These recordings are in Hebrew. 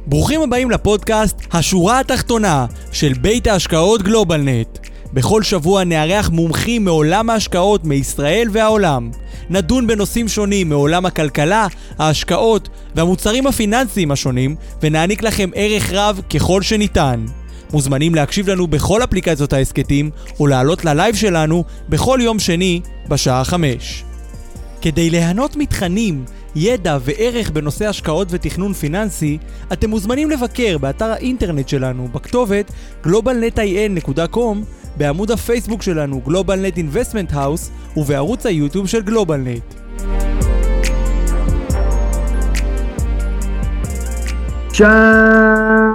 ברוכים הבאים לפודקאסט השורה התחתונה של בית ההשקעות גלובלנט. בכל שבוע נארח מומחים מעולם ההשקעות מישראל והעולם. נדון בנושאים שונים מעולם הכלכלה, ההשקעות והמוצרים הפיננסיים השונים, ונעניק לכם ערך רב ככל שניתן. מוזמנים להקשיב לנו בכל אפליקציות העסקתים, או לעלות ללייב שלנו בכל יום שני בשעה 5. כדי ליהנות מתכנים, ידע וערך בנושא השקעות ותכנון פיננסי, אתם מוזמנים לבקר באתר האינטרנט שלנו בכתובת globalnetin.com, בעמוד הפייסבוק שלנו GlobalNet Investment House ובערוץ היוטיוב של GlobalNet. שלום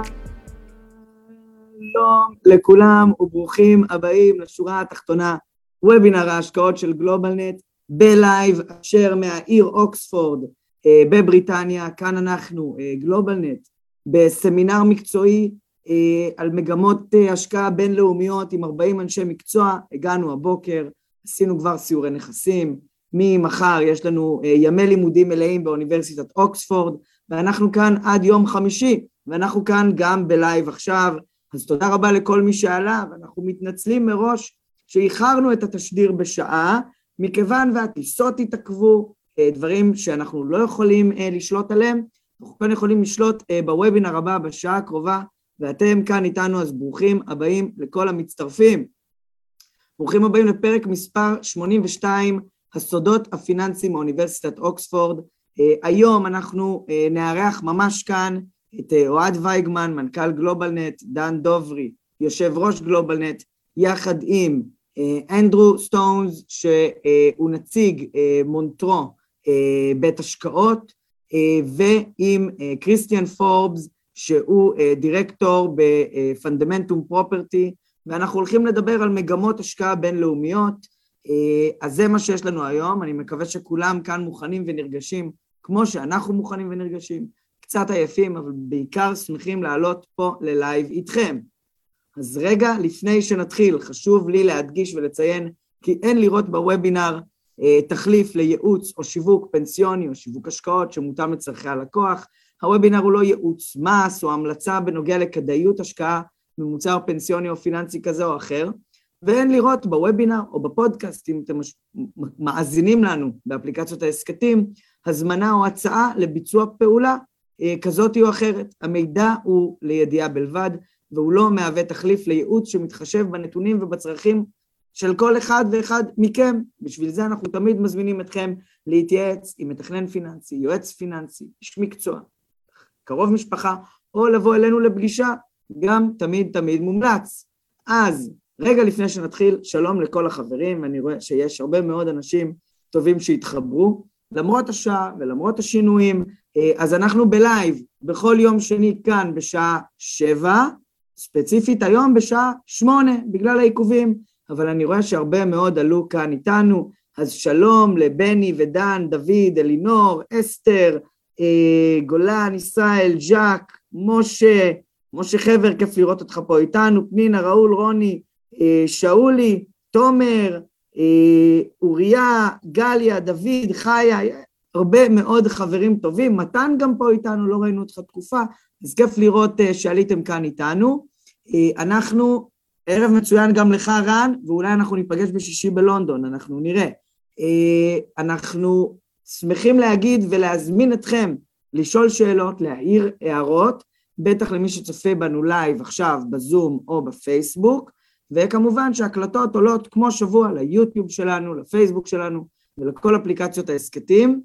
לכולם וברוכים הבאים לשורה התחתונה, וובינר ההשקעות של GlobalNet בלייב אשר מהעיר אוקספורד בבריטניה. כאן אנחנו GlobalNet בסמינר מקצועי על מגמות השקעה בינלאומיות עם 40 אנשי מקצוע. הגענו הבוקר, עשינו כבר סיורי נכסים, ממחר יש לנו ימי לימודים מלאים באוניברסיטת אוקספורד, ואנחנו כאן עד יום חמישי, ואנחנו כאן גם בלייב עכשיו. אז תודה רבה לכל מי שעלה, ואנחנו מתנצלים מראש שאיחרנו את התשדיר בשעה, מכיוון והטיסות התעכבו, דברים שאנחנו לא יכולים לשלוט עליהם. אנחנו כאן יכולים לשלוט בוובינר הבא בשעה הקרובה, ואתם כאן איתנו, אז ברוכים הבאים לכל המצטרפים. ברוכים הבאים לפרק מספר 82, הסודות הפיננסיים מאוניברסיטת אוקספורד. היום אנחנו נארח ממש כאן את אוהד וייגמן, מנכ"ל גלובלנט, דן דוברי, יושב ראש גלובלנט, יחד עם אנדרו סטונס, שהוא נציג מונטרו בית השקעות, ועם קריסטיאן פורבס, שהוא דירקטור בפונדמנטום פרופרטי, ואנחנו הולכים לדבר על מגמות השקעה בינלאומיות. אז זה מה שיש לנו היום. אני מקווה שכולם כאן מוכנים ונרגשים, כמו שאנחנו מוכנים ונרגשים, קצת עייפים, אבל בעיקר שמחים לעלות פה ללייב איתכם. אז רגע לפני שנתחיל, חשוב לי להדגיש ולציין, כי אין לראות בוובינר תחליף לייעוץ או שיווק פנסיוני או שיווק השקעות שמותאם לצרכי הלקוח. הוובינר הוא לא ייעוץ מס או המלצה בנוגע לכדאיות השקעה במוצר פנסיוני או פיננסי כזה או אחר, ואין לראות בוובינר או בפודקאסט, אם אתם מאזינים לנו באפליקציות העסקתים, הזמנה או הצעה לביצוע פעולה כזאת או אחרת. המידע הוא לידיעה בלבד, והוא לא מהווה תחליף לייעוץ שמתחשב בנתונים ובצרכים של כל אחד ואחד מכם. בשביל זה אנחנו תמיד מזמינים אתכם להתייעץ עם מתכנן פיננסי, יועץ פיננסי, איש מקצוע, קרוב משפחה, או לבוא אלינו לפגישה, גם תמיד מומלץ. אז רגע לפני שנתחיל, שלום לכל החברים. אני רואה שיש הרבה מאוד אנשים טובים שהתחברו, למרות השעה ולמרות השינויים. אז אנחנו בלייב בכל יום שני כאן בשעה 7, ספציפית היום בשעה 8 בגלל העיכובים, אבל אני רואה שהרבה מאוד עלו כאן איתנו. אז שלום לבני ודן, דוד, אלינור, אסתר, גולן, ישראל, ז'ק, משה חבר, כיף לראות אותך פה איתנו, פנינה, ראול, רוני, שאולי, תומר, אוריה, גליה, דוד, חיה, הרבה מאוד חברים טובים. מתן גם פה איתנו, לא ראינו אותך תקופה, אז כיף לראות שעליתם כאן איתנו. אנחנו, ערב מצוין גם לך רן, ואולי אנחנו ניפגש בשישי בלונדון, אנחנו נראה. אנחנו שמחים להגיד ולהזמין אתכם לשאול שאלות, להעיר הערות, בטח למי שצופה בנו לייב עכשיו בזום או בפייסבוק, וכמובן שהקלטות עולות כמו שבוע ליוטיוב שלנו, לפייסבוק שלנו ולכל אפליקציות העסקתים.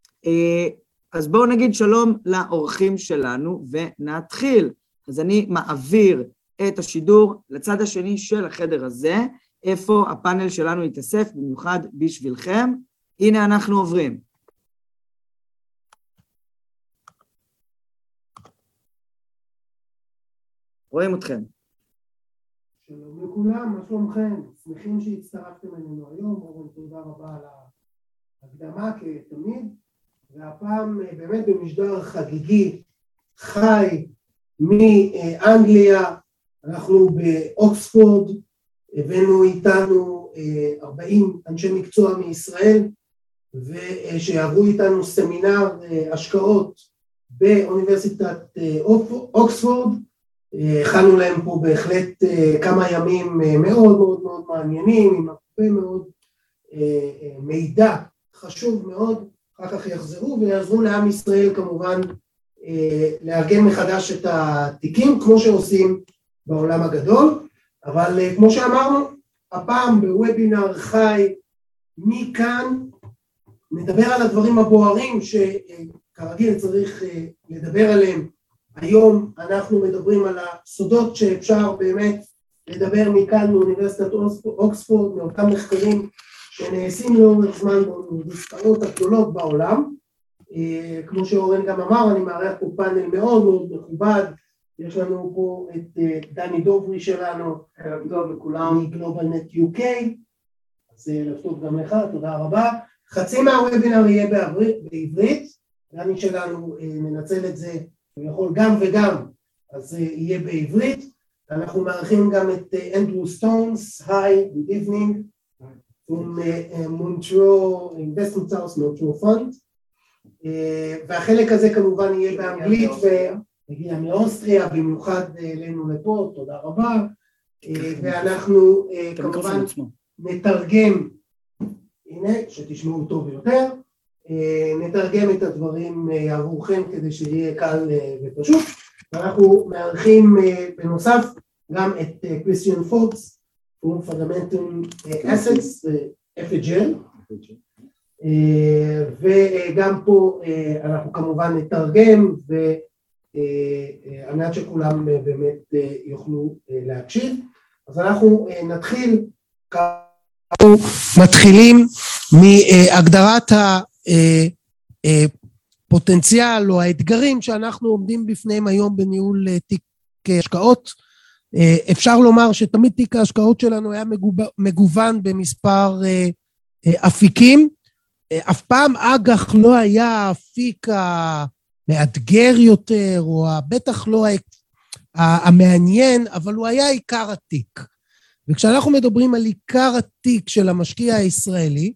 אז בואו נגיד שלום לאורחים שלנו ונתחיל. אז אני מעביר את השידור לצד השני של החדר הזה, איפה הפאנל שלנו יתאסף במיוחד בשבילכם. הנה אנחנו עוברים. רואים אתכם. שלום לכולם, מה שלומכם? שמחים שהצטרפתם אלינו היום, רוב תודה רבה על ההקדמה כתמיד, והפעם באמת במשדר חגיגי, חי מאנגליה. אנחנו באוקספורד, הבאנו איתנו 40 אנשי מקצוע מישראל, ושיעברו איתנו סמינר השקעות באוניברסיטת אוקספורד. הכנו להם פה בהחלט כמה ימים מאוד מאוד מאוד מעניינים, עם הרבה מאוד מידע חשוב מאוד. אחר כך יחזרו ויעזרו לעם ישראל כמובן לארגן מחדש את התיקים, כמו שעושים בעולם הגדול. אבל כמו שאמרנו, הפעם בוובינר חי מכאן, נדבר על הדברים הבוערים שכרגיל צריך לדבר עליהם. היום אנחנו מדברים על הסודות שאפשר באמת לדבר מכאן מאוניברסיטת אוקספורד, מאותם מחקרים שנעשים לאורך זמן באוניברסיטאות הגדולות בעולם. כמו שאורן גם אמר, אני מארח פה פאנל מאוד מאוד מכובד. יש לנו פה את דני דוברי שלנו, ערב טוב לכולם, מגלובלנט UK, אז ערב טוב גם לך, תודה רבה. חצי מהוובינר יהיה בעברית, דני שלנו מנצל את זה, הוא יכול גם וגם, אז יהיה בעברית. אנחנו מארחים גם את אנדרו סטונס, היי, good evening, from Montreal Investment House, Montreal Fund, והחלק הזה כמובן יהיה באנגלית, מגיע מאוסטריה, במיוחד אלינו לפה, תודה רבה, ואנחנו כמובן נתרגם, הנה, שתשמעו טוב יותר, נתרגם את הדברים עבורכם כדי שיהיה קל ופשוט. ואנחנו מארחים בנוסף גם את קריסטיאן פוקס, הוא Fundamental Assets, FHL, וגם פה אנחנו כמובן נתרגם, על מנת שכולם באמת יוכלו להקשיב. אז אנחנו נתחיל, מתחילים מהגדרת הפוטנציאל או האתגרים שאנחנו עומדים בפניהם היום בניהול תיק השקעות. אפשר לומר שתמיד תיק ההשקעות שלנו היה מגוון במספר אפיקים. אף פעם אג"ח לא היה האפיק המאתגר יותר, או בטח לא המעניין, אבל הוא היה עיקר התיק. וכשאנחנו מדברים על עיקר התיק של המשקיע הישראלי,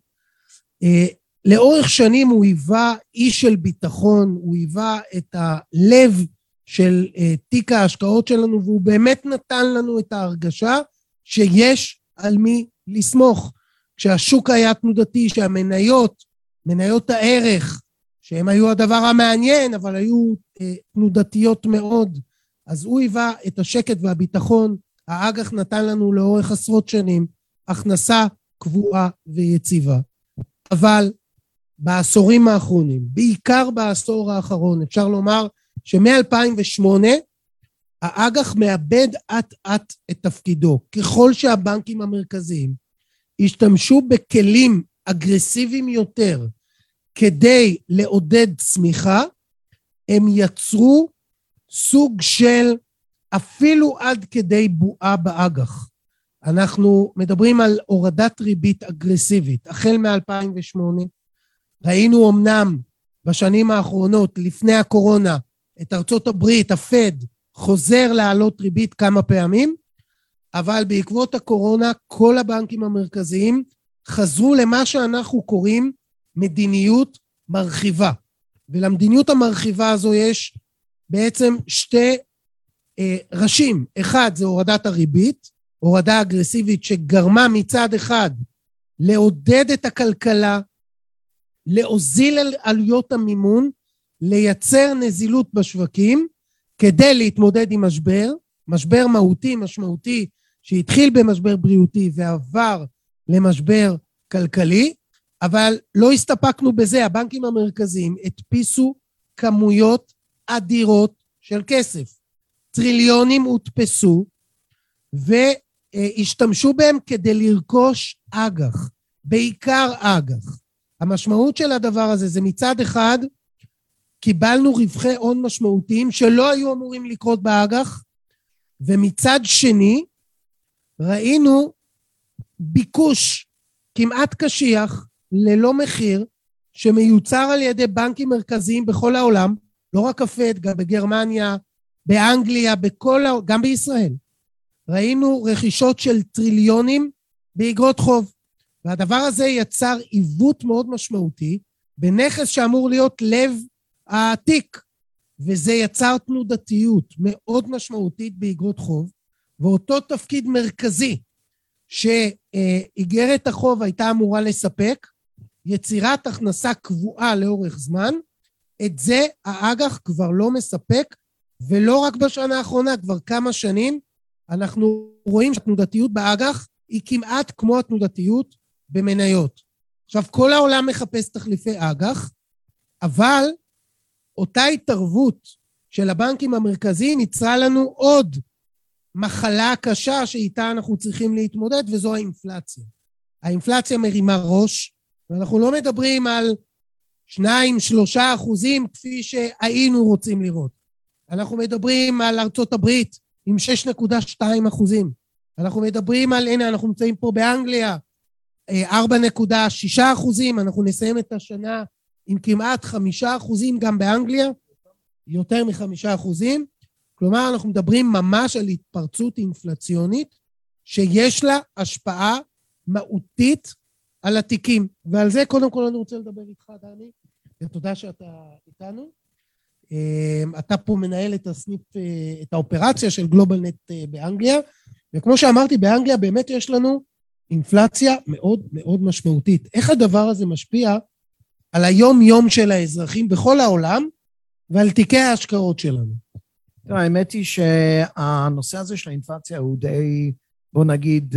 לאורך שנים הוא היווה איש של ביטחון, הוא היווה את הלב של תיק ההשקעות שלנו, והוא באמת נתן לנו את ההרגשה שיש על מי לסמוך. כשהשוק היה תנודתי, שהמניות, מניות הערך, שהם היו הדבר המעניין, אבל היו תנודתיות מאוד, אז הוא היווה את השקט והביטחון. האג"ח נתן לנו לאורך עשרות שנים הכנסה קבועה ויציבה. אבל בעשורים האחרונים, בעיקר בעשור האחרון, אפשר לומר שמ-2008 האג"ח מאבד אט את תפקידו. ככל שהבנקים המרכזיים השתמשו בכלים אגרסיביים יותר כדי לעודד צמיחה, הם יצרו סוג של אפילו עד כדי בועה באג"ח. אנחנו מדברים על הורדת ריבית אגרסיבית. החל מ-2008 ראינו אמנם בשנים האחרונות, לפני הקורונה, את ארצות הברית, הפד, חוזר לעלות ריבית כמה פעמים, אבל בעקבות הקורונה כל הבנקים המרכזיים חזרו למה שאנחנו קוראים מדיניות מרחיבה. ולמדיניות המרחיבה הזו יש בעצם שתי ראשים. אחד זה הורדת הריבית, הורדה אגרסיבית שגרמה מצד אחד לעודד את הכלכלה, להוזיל עלויות המימון, לייצר נזילות בשווקים, כדי להתמודד עם משבר מהותי, משמעותי, שהתחיל במשבר בריאותי ועבר למשבר כלכלי, אבל לא הסתפקנו בזה. הבנקים המרכזיים הדפיסו כמויות אדירות של כסף. טריליונים הודפסו, והשתמשו בהם כדי לרכוש אג"ח, בעיקר אג"ח. המשמעות של הדבר הזה זה מצד אחד, קיבלנו רווחי הון משמעותיים שלא היו אמורים לקרות באג"ח, ומצד שני, ראינו ביקוש כמעט קשיח, ללא מחיר, שמיוצר על ידי בנקים מרכזיים בכל העולם, לא רק הפד, גם בגרמניה, באנגליה, גם בישראל. ראינו רכישות של טריליונים באגרות חוב, והדבר הזה יצר עיוות מאוד משמעותי, בנכס שאמור להיות לב התיק. וזה יצר תנודתיות מאוד משמעותית באגרות חוב, ואותו תפקיד מרכזי שאיגרת החוב הייתה אמורה לספק, יצירת הכנסה קבועה לאורך זמן, את זה האג"ח כבר לא מספק, ולא רק בשנה האחרונה, כבר כמה שנים, אנחנו רואים שהתנודתיות באג"ח היא כמעט כמו התנודתיות במניות. עכשיו, כל העולם מחפש תחליפי אג"ח, אבל אותה התערבות של הבנקים המרכזיים יצרה לנו עוד מחלה קשה שאיתה אנחנו צריכים להתמודד, וזו האינפלציה. האינפלציה מרימה ראש, ואנחנו לא מדברים על 2-3% כפי שהיינו רוצים לראות. אנחנו מדברים על ארצות הברית עם 6.2%. אנחנו מדברים על, הנה, אנחנו נמצאים פה באנגליה, 4.6%, אנחנו נסיים את השנה עם כמעט 5% גם באנגליה, יותר מ5%. כלומר, אנחנו מדברים ממש על התפרצות אינפלציונית, שיש לה השפעה מהותית על התיקים. ועל זה קודם כל אני רוצה לדבר איתך, דני, ותודה שאתה איתנו. אתה פה מנהל את הסניף, את האופרציה של גלובלנט באנגליה, וכמו שאמרתי, באנגליה באמת יש לנו אינפלציה מאוד מאוד משמעותית. איך הדבר הזה משפיע על היום-יום של האזרחים בכל העולם, ועל תיקי ההשקעות שלנו? האמת היא שהנושא הזה של האינפלציה הוא די, בוא נגיד,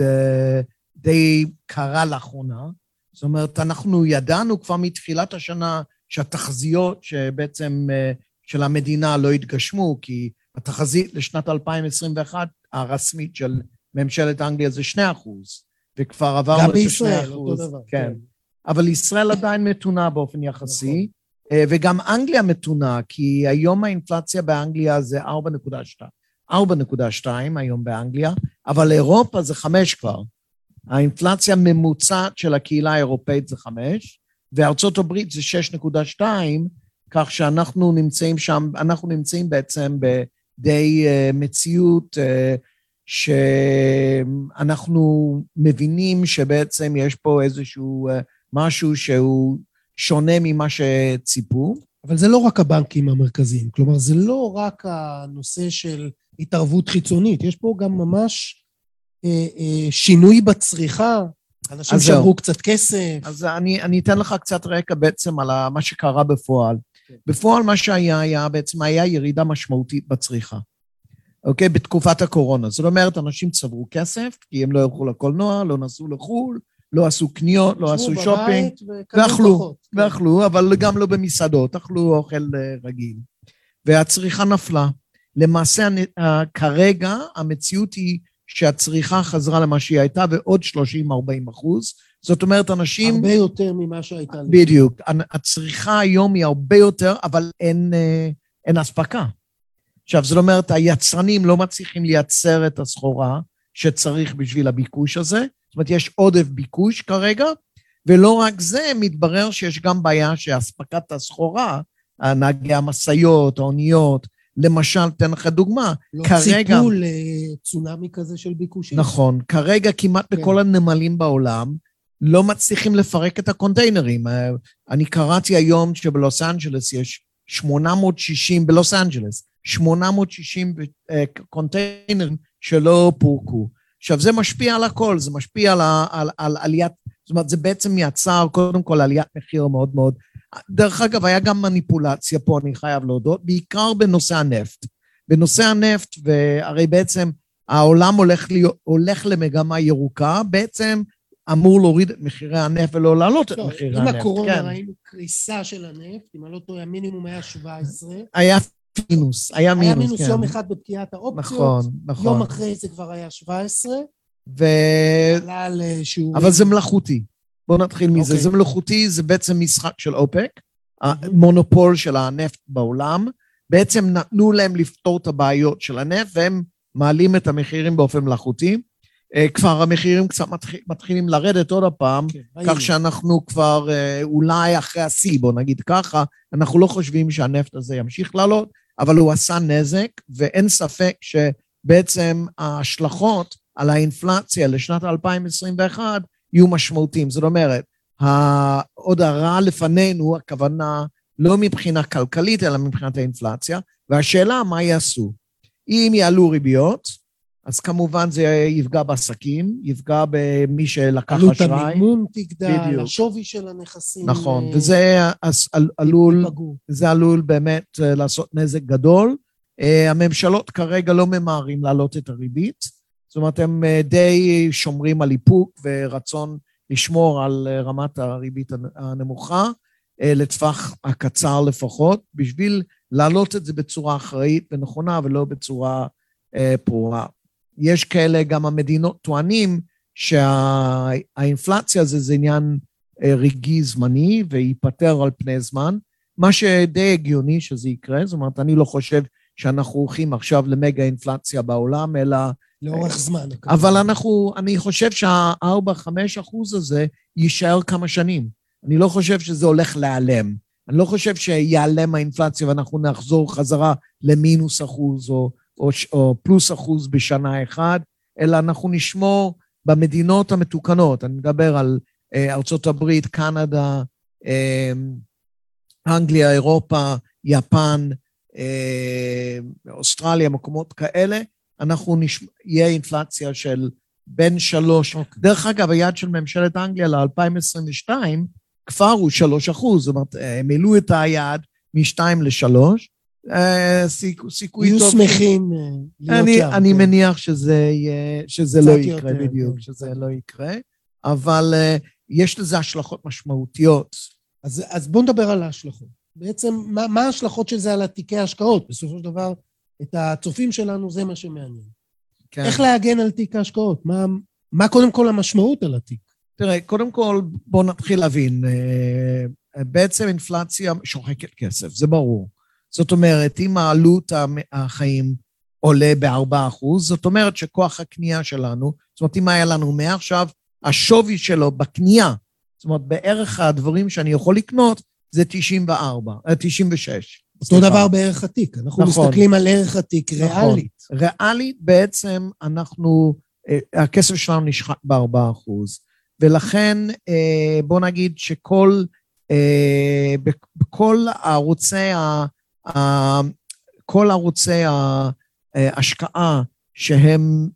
די קרה לאחרונה. זאת אומרת, אנחנו ידענו כבר מתחילת השנה שהתחזיות שבעצם של המדינה לא התגשמו, כי התחזית לשנת 2021 הרסמית של ממשלת אנגליה זה 2%, וכבר עברנו את 2%. גם בישראל, אותו דבר. כן. אבל ישראל עדיין מתונה באופן יחסי, וגם אנגליה מתונה, כי היום האינפלציה באנגליה זה 4.2 היום באנגליה, אבל אירופה זה 5 כבר. האינפלציה ממוצעת של הקהילה האירופאית זה 5, וארצות הברית זה 6.2, כך שאנחנו נמצאים שם, אנחנו נמצאים בעצם בדי מציאות שאנחנו מבינים שבעצם יש פה איזשהו משהו שהוא שונה ממה שציפו. אבל זה לא רק הבנקים המרכזיים, כלומר זה לא רק הנושא של התערבות חיצונית, יש פה גם ממש שינוי בצריכה, אנשים שעברו קצת כסף. אז אני אתן לך קצת רקע בעצם על מה שקרה בפועל. בפועל מה שהיה בעצם היה ירידה משמעותית בצריכה. אוקיי? בתקופת הקורונה. זאת אומרת, אנשים צברו כסף, כי הם לא הלכו לקולנוע, לא נסעו לחול, לא עשו קניות, לא עשו שופינג, ואכלו, אבל גם לא במסעדות, אכלו אוכל רגיל. והצריכה נפלה. למעשה, כרגע המציאות היא שהצריכה חזרה למה שהיא הייתה, ועוד 30-40%. זאת אומרת, אנשים... הרבה יותר ממה שהייתה. בדיוק. הצריכה היום היא הרבה יותר, אבל אין הספקה. עכשיו, זאת אומרת, היצרנים לא מצליחים לייצר את הסחורה שצריך בשביל הביקוש הזה. זאת אומרת, יש עודף ביקוש כרגע, ולא רק זה, מתברר שיש גם בעיה שהספקת הסחורה, נהגי המשאיות, האוניות, למשל, תן לך דוגמה, לא כרגע... ציפו לצונמי כזה של ביקושים. נכון, כרגע כמעט כן. בכל הנמלים בעולם, לא מצליחים לפרק את הקונטיינרים. אני קראתי היום שבלוס אנג'לס יש 860, בלוס אנג'לס, 860 קונטיינרים שלא פורקו. עכשיו, זה משפיע על הכל, זה משפיע על עליית, זאת אומרת, זה בעצם יצר קודם כל עליית מחיר מאוד מאוד. דרך אגב, היה גם מניפולציה פה, אני חייב להודות, בעיקר בנושא הנפט. בנושא הנפט, והרי בעצם העולם הולך למגמה ירוקה, בעצם אמור להוריד את מחירי הנפט ולא להעלות את מחירי הנפט. עם הקורונה ראינו קריסה של הנפט, אם אני לא טועה, המינימום היה 17. היה מינוס, היה מינוס, כן. יום אחד בפקיעת האופציות, נכון. יום אחרי זה כבר היה 17. אבל זה מלאכותי. בואו נתחיל מזה. זה מלאכותי, זה בעצם משחק של אופק, המונופול של הנפט בעולם, בעצם נתנו להם לפתור את הבעיות של הנפט, והם מעלים את המחירים באופן מלאכותי. כבר המחירים קצת מתחילים לרדת עוד הפעם, כך שאנחנו כבר אולי אחרי השיא, בואו נגיד ככה, אנחנו לא חושבים שהנפט הזה ימשיך לעלות, אבל הוא עשה נזק, ואין ספק שבעצם ההשלכות על האינפלציה לשנת 2021 יהיו משמעותיים. זאת אומרת, עוד הרע לפנינו, הכוונה לא מבחינה כלכלית, אלא מבחינת האינפלציה, והשאלה מה יעשו. אם יעלו ריביות, אז כמובן זה יפגע בעסקים, יפגע במי שלקח אשראי. עלות המימון תגדל, השווי של הנכסים. נכון, וזה עלול באמת לעשות נזק גדול. הממשלות כרגע לא ממהרים להעלות את הריבית, זאת אומרת, הם די שומרים על איפוק ורצון לשמור על רמת הריבית הנמוכה, לטווח הקצר לפחות, בשביל להעלות את זה בצורה אחראית ונכונה ולא בצורה פרועה. יש כאלה, גם המדינות טוענים שהאינפלציה זה עניין רגעי זמני וייפטר על פני זמן, מה שדי הגיוני שזה יקרה, זאת אומרת, אני לא חושב שאנחנו הולכים עכשיו למגה אינפלציה בעולם, אלא לאורך זמן. אבל אני חושב שה4-5% הזה יישאר כמה שנים. אני לא חושב שזה הולך להיעלם. אני לא חושב שיעלם האינפלציה ואנחנו נחזור חזרה למינוס אחוז או פלוס אחוז בשנה אחד, אלא אנחנו נשמור במדינות המתוקנות. אני מדבר על ארצות הברית, קנדה, אנגליה, אירופה, יפן, אוסטרליה, מקומות כאלה, אנחנו יהיה אינפלציה של בין 3, דרך אגב, היעד של ממשלת אנגליה ל-2022, כבר הוא 3%, זאת אומרת, הם העלו את היעד מ-2 ל-3, סיכוי טוב. יהיו שמחים להיות שם. אני מניח שזה לא יקרה בדיוק, שזה לא יקרה, אבל יש לזה השלכות משמעותיות. אז בואו נדבר על ההשלכות. בעצם, מה ההשלכות של זה על התיקי ההשקעות? בסופו של דבר, את הצופים שלנו זה מה שמעניין. כן. איך להגן על תיק ההשקעות? מה קודם כל המשמעות על התיק? תראה, קודם כל בואו נתחיל להבין, בעצם אינפלציה שוחקת כסף, זה ברור. זאת אומרת, אם העלות החיים עולה ב4%, זאת אומרת שכוח הקנייה שלנו, זאת אומרת, אם היה לנו 100 עכשיו, השווי שלו בקנייה, זאת אומרת, בערך הדברים שאני יכול לקנות, זה 96. אותו דבר בערך התיק, אנחנו מסתכלים על ערך התיק ריאלית. ריאלית בעצם הכסף שלנו נשחק ב4%, ולכן בוא נגיד שכל, בכל ערוצי ההשקעה שהם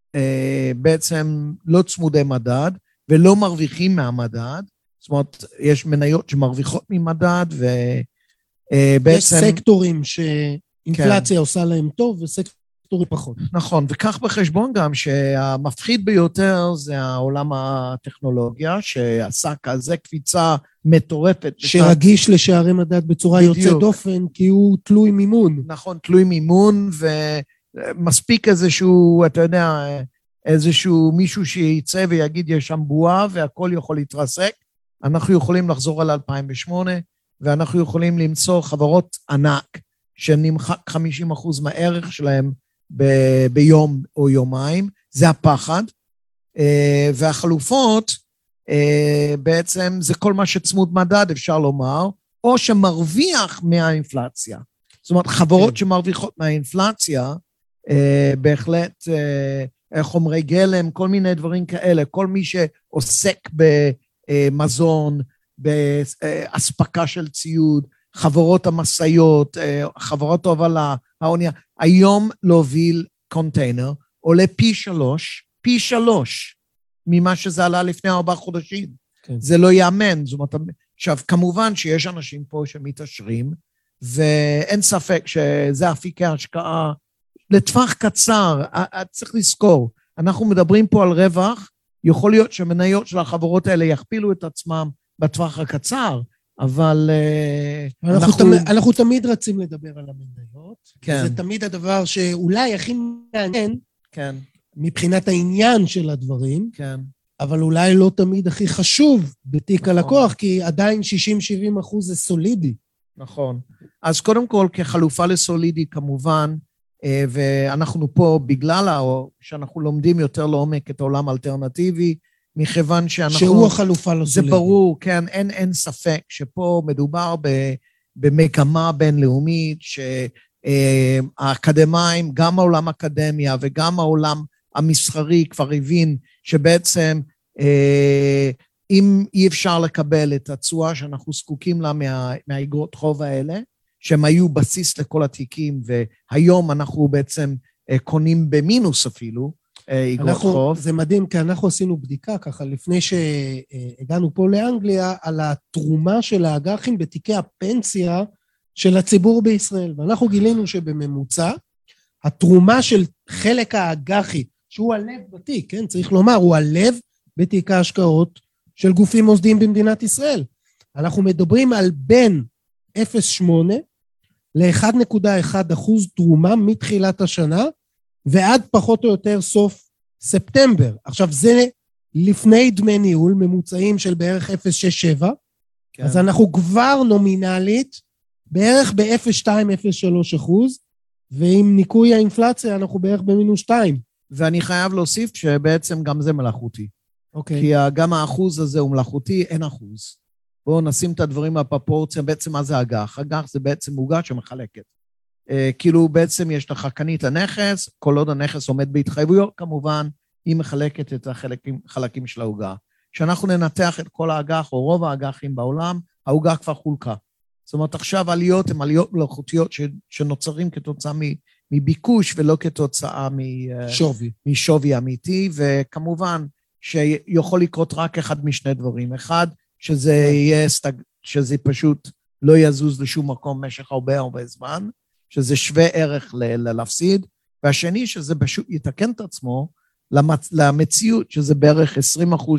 בעצם לא צמודי מדד ולא מרוויחים מהמדד, זאת אומרת, יש מניות שמרוויחות ממדד ובעצם... יש סקטורים שאינפלציה כן. עושה להם טוב וסקטורים פחות. נכון, וכך בחשבון גם שהמפחיד ביותר זה העולם הטכנולוגיה, שעשה כזה קפיצה מטורפת. שרגיש לשערי מדד בצורה בדיוק. יוצא דופן, כי הוא תלוי מימון. נכון, תלוי מימון, ומספיק איזשהו, אתה יודע, איזשהו מישהו שיצא ויגיד יש שם בועה והכל יכול להתרסק, אנחנו יכולים לחזור על 2008, ואנחנו יכולים למצוא חברות ענק, שנמחק 50% מהערך שלהם ביום או יומיים, זה הפחד, והחלופות בעצם זה כל מה שצמוד מדד אפשר לומר, או שמרוויח מהאינפלציה. זאת אומרת, חברות שמרוויחות מהאינפלציה, בהחלט חומרי גלם, כל מיני דברים כאלה, כל מי שעוסק במזון, בהספקה של ציוד, חברות המסעיות, חברות ההובלה, האונייה, היום להוביל קונטיינר, עולה פי 3 ממה שזה עלה לפני 4 חודשים. כן. זה לא יאמן. זאת אומרת, עכשיו, כמובן שיש אנשים פה שמתעשרים, ואין ספק שזה אפיקי ההשקעה לטווח קצר. צריך לזכור, אנחנו מדברים פה על רווח, יכול להיות שמניות של החברות האלה יכפילו את עצמם בטווח הקצר, אבל אנחנו תמיד רצים לדבר על המניות. כן. זה תמיד הדבר שאולי הכי מעניין, כן. מבחינת העניין של הדברים, כן. אבל אולי לא תמיד הכי חשוב בתיק הלקוח, כי עדיין 60-70% זה סולידי. נכון. אז קודם כל, כחלופה לסולידי, כמובן, ואנחנו פה בגלל שאנחנו לומדים יותר לעומק את העולם האלטרנטיבי, מכיוון שאנחנו... שהוא החלופה לסולידי. זה ברור, כן, אין ספק שפה מדובר במגמה בינלאומית, שהאקדמיים, גם העולם האקדמיה וגם העולם המסחרי כבר הבין שבעצם אם אי אפשר לקבל את התשואה שאנחנו זקוקים לה מהאגרות חוב האלה, שהם היו בסיס לכל התיקים, והיום אנחנו בעצם קונים במינוס אפילו, אגרות חוב. זה מדהים, כי אנחנו עשינו בדיקה ככה, לפני שהגענו פה לאנגליה, על התרומה של האג"חים בתיקי הפנסיה של הציבור בישראל, ואנחנו גילינו שבממוצע, התרומה של חלק האג"חי, שהוא הלב בתיק, כן? צריך לומר, הוא הלב בתיק ההשקעות של גופים מוסדיים במדינת ישראל. אנחנו מדברים על בין 0.8 ל-1.1% תרומה מתחילת השנה, ועד פחות או יותר סוף ספטמבר. עכשיו זה לפני דמי ניהול, ממוצעים של בערך 0.67, כן. אז אנחנו כבר נומינלית, בערך ב-0.2-0.3%, ועם ניקוי האינפלציה אנחנו בערך במינוס 2. ואני חייב להוסיף שבעצם גם זה מלאכותי. אוקיי. כי גם האחוז הזה הוא מלאכותי, אין אחוז. בואו נשים את הדברים בפרופורציה, בעצם מה זה אג"ח? אג"ח זה בעצם עוגה שמחלקת. כאילו בעצם יש לך קנית הנכס, כל עוד הנכס עומד בהתחייבויות, כמובן, היא מחלקת את החלקים של העוגה. כשאנחנו ננתח את כל האג"ח, או רוב האג"חים בעולם, העוגה כבר חולקה. זאת אומרת, עכשיו עליות הן עליות מלאכותיות שנוצרים כתוצאה מביקוש, ולא כתוצאה משווי אמיתי, וכמובן שיכול לקרות רק אחד משני דברים. אחד, שזה פשוט לא יזוז לשום מקום משך הרבה זמן, שזה שווה ערך להפסיד, והשני שזה פשוט יתקן את עצמו למציאות, שזה בערך 20%, 30%,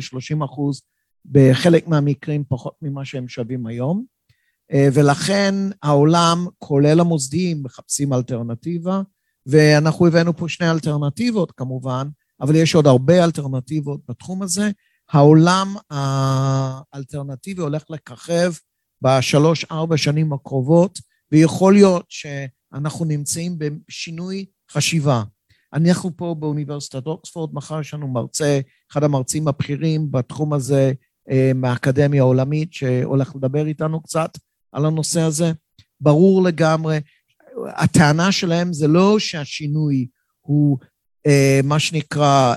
בחלק מהמקרים פחות ממה שהם שווים היום, ולכן העולם, כולל המוסדיים, מחפשים אלטרנטיבה, ואנחנו הבאנו פה שני אלטרנטיבות כמובן, אבל יש עוד הרבה אלטרנטיבות בתחום הזה. העולם האלטרנטיבי הולך לככב ב3-4 שנים הקרובות, ויכול להיות שאנחנו נמצאים בשינוי חשיבה. אנחנו פה באוניברסיטת אוקספורד, מחר יש לנו מרצה, אחד המרצים הבכירים בתחום הזה, מהאקדמיה העולמית, שהולך לדבר איתנו קצת על הנושא הזה. ברור לגמרי, הטענה שלהם זה לא שהשינוי הוא מה שנקרא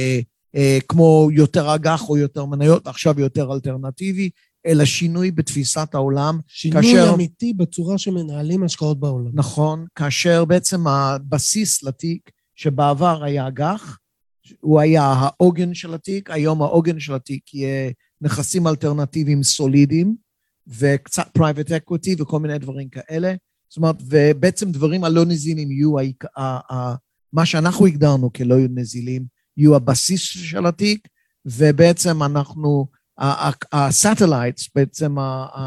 כמו יותר אג"ח או יותר מניות, עכשיו יותר אלטרנטיבי, אלא שינוי בתפיסת העולם. שינוי אמיתי בצורה שמנהלים השקעות בעולם. נכון, כאשר בעצם הבסיס לתיק שבעבר היה אג"ח, הוא היה העוגן של התיק, היום העוגן של התיק יהיה נכסים אלטרנטיביים סולידיים, וקצת private equity וכל מיני דברים כאלה. זאת אומרת, ובעצם דברים הלא נזילים יהיו מה שאנחנו הגדרנו כלא נזילים, יהיו הבסיס של התיק, ובעצם אנחנו, הסטלייטס, בעצם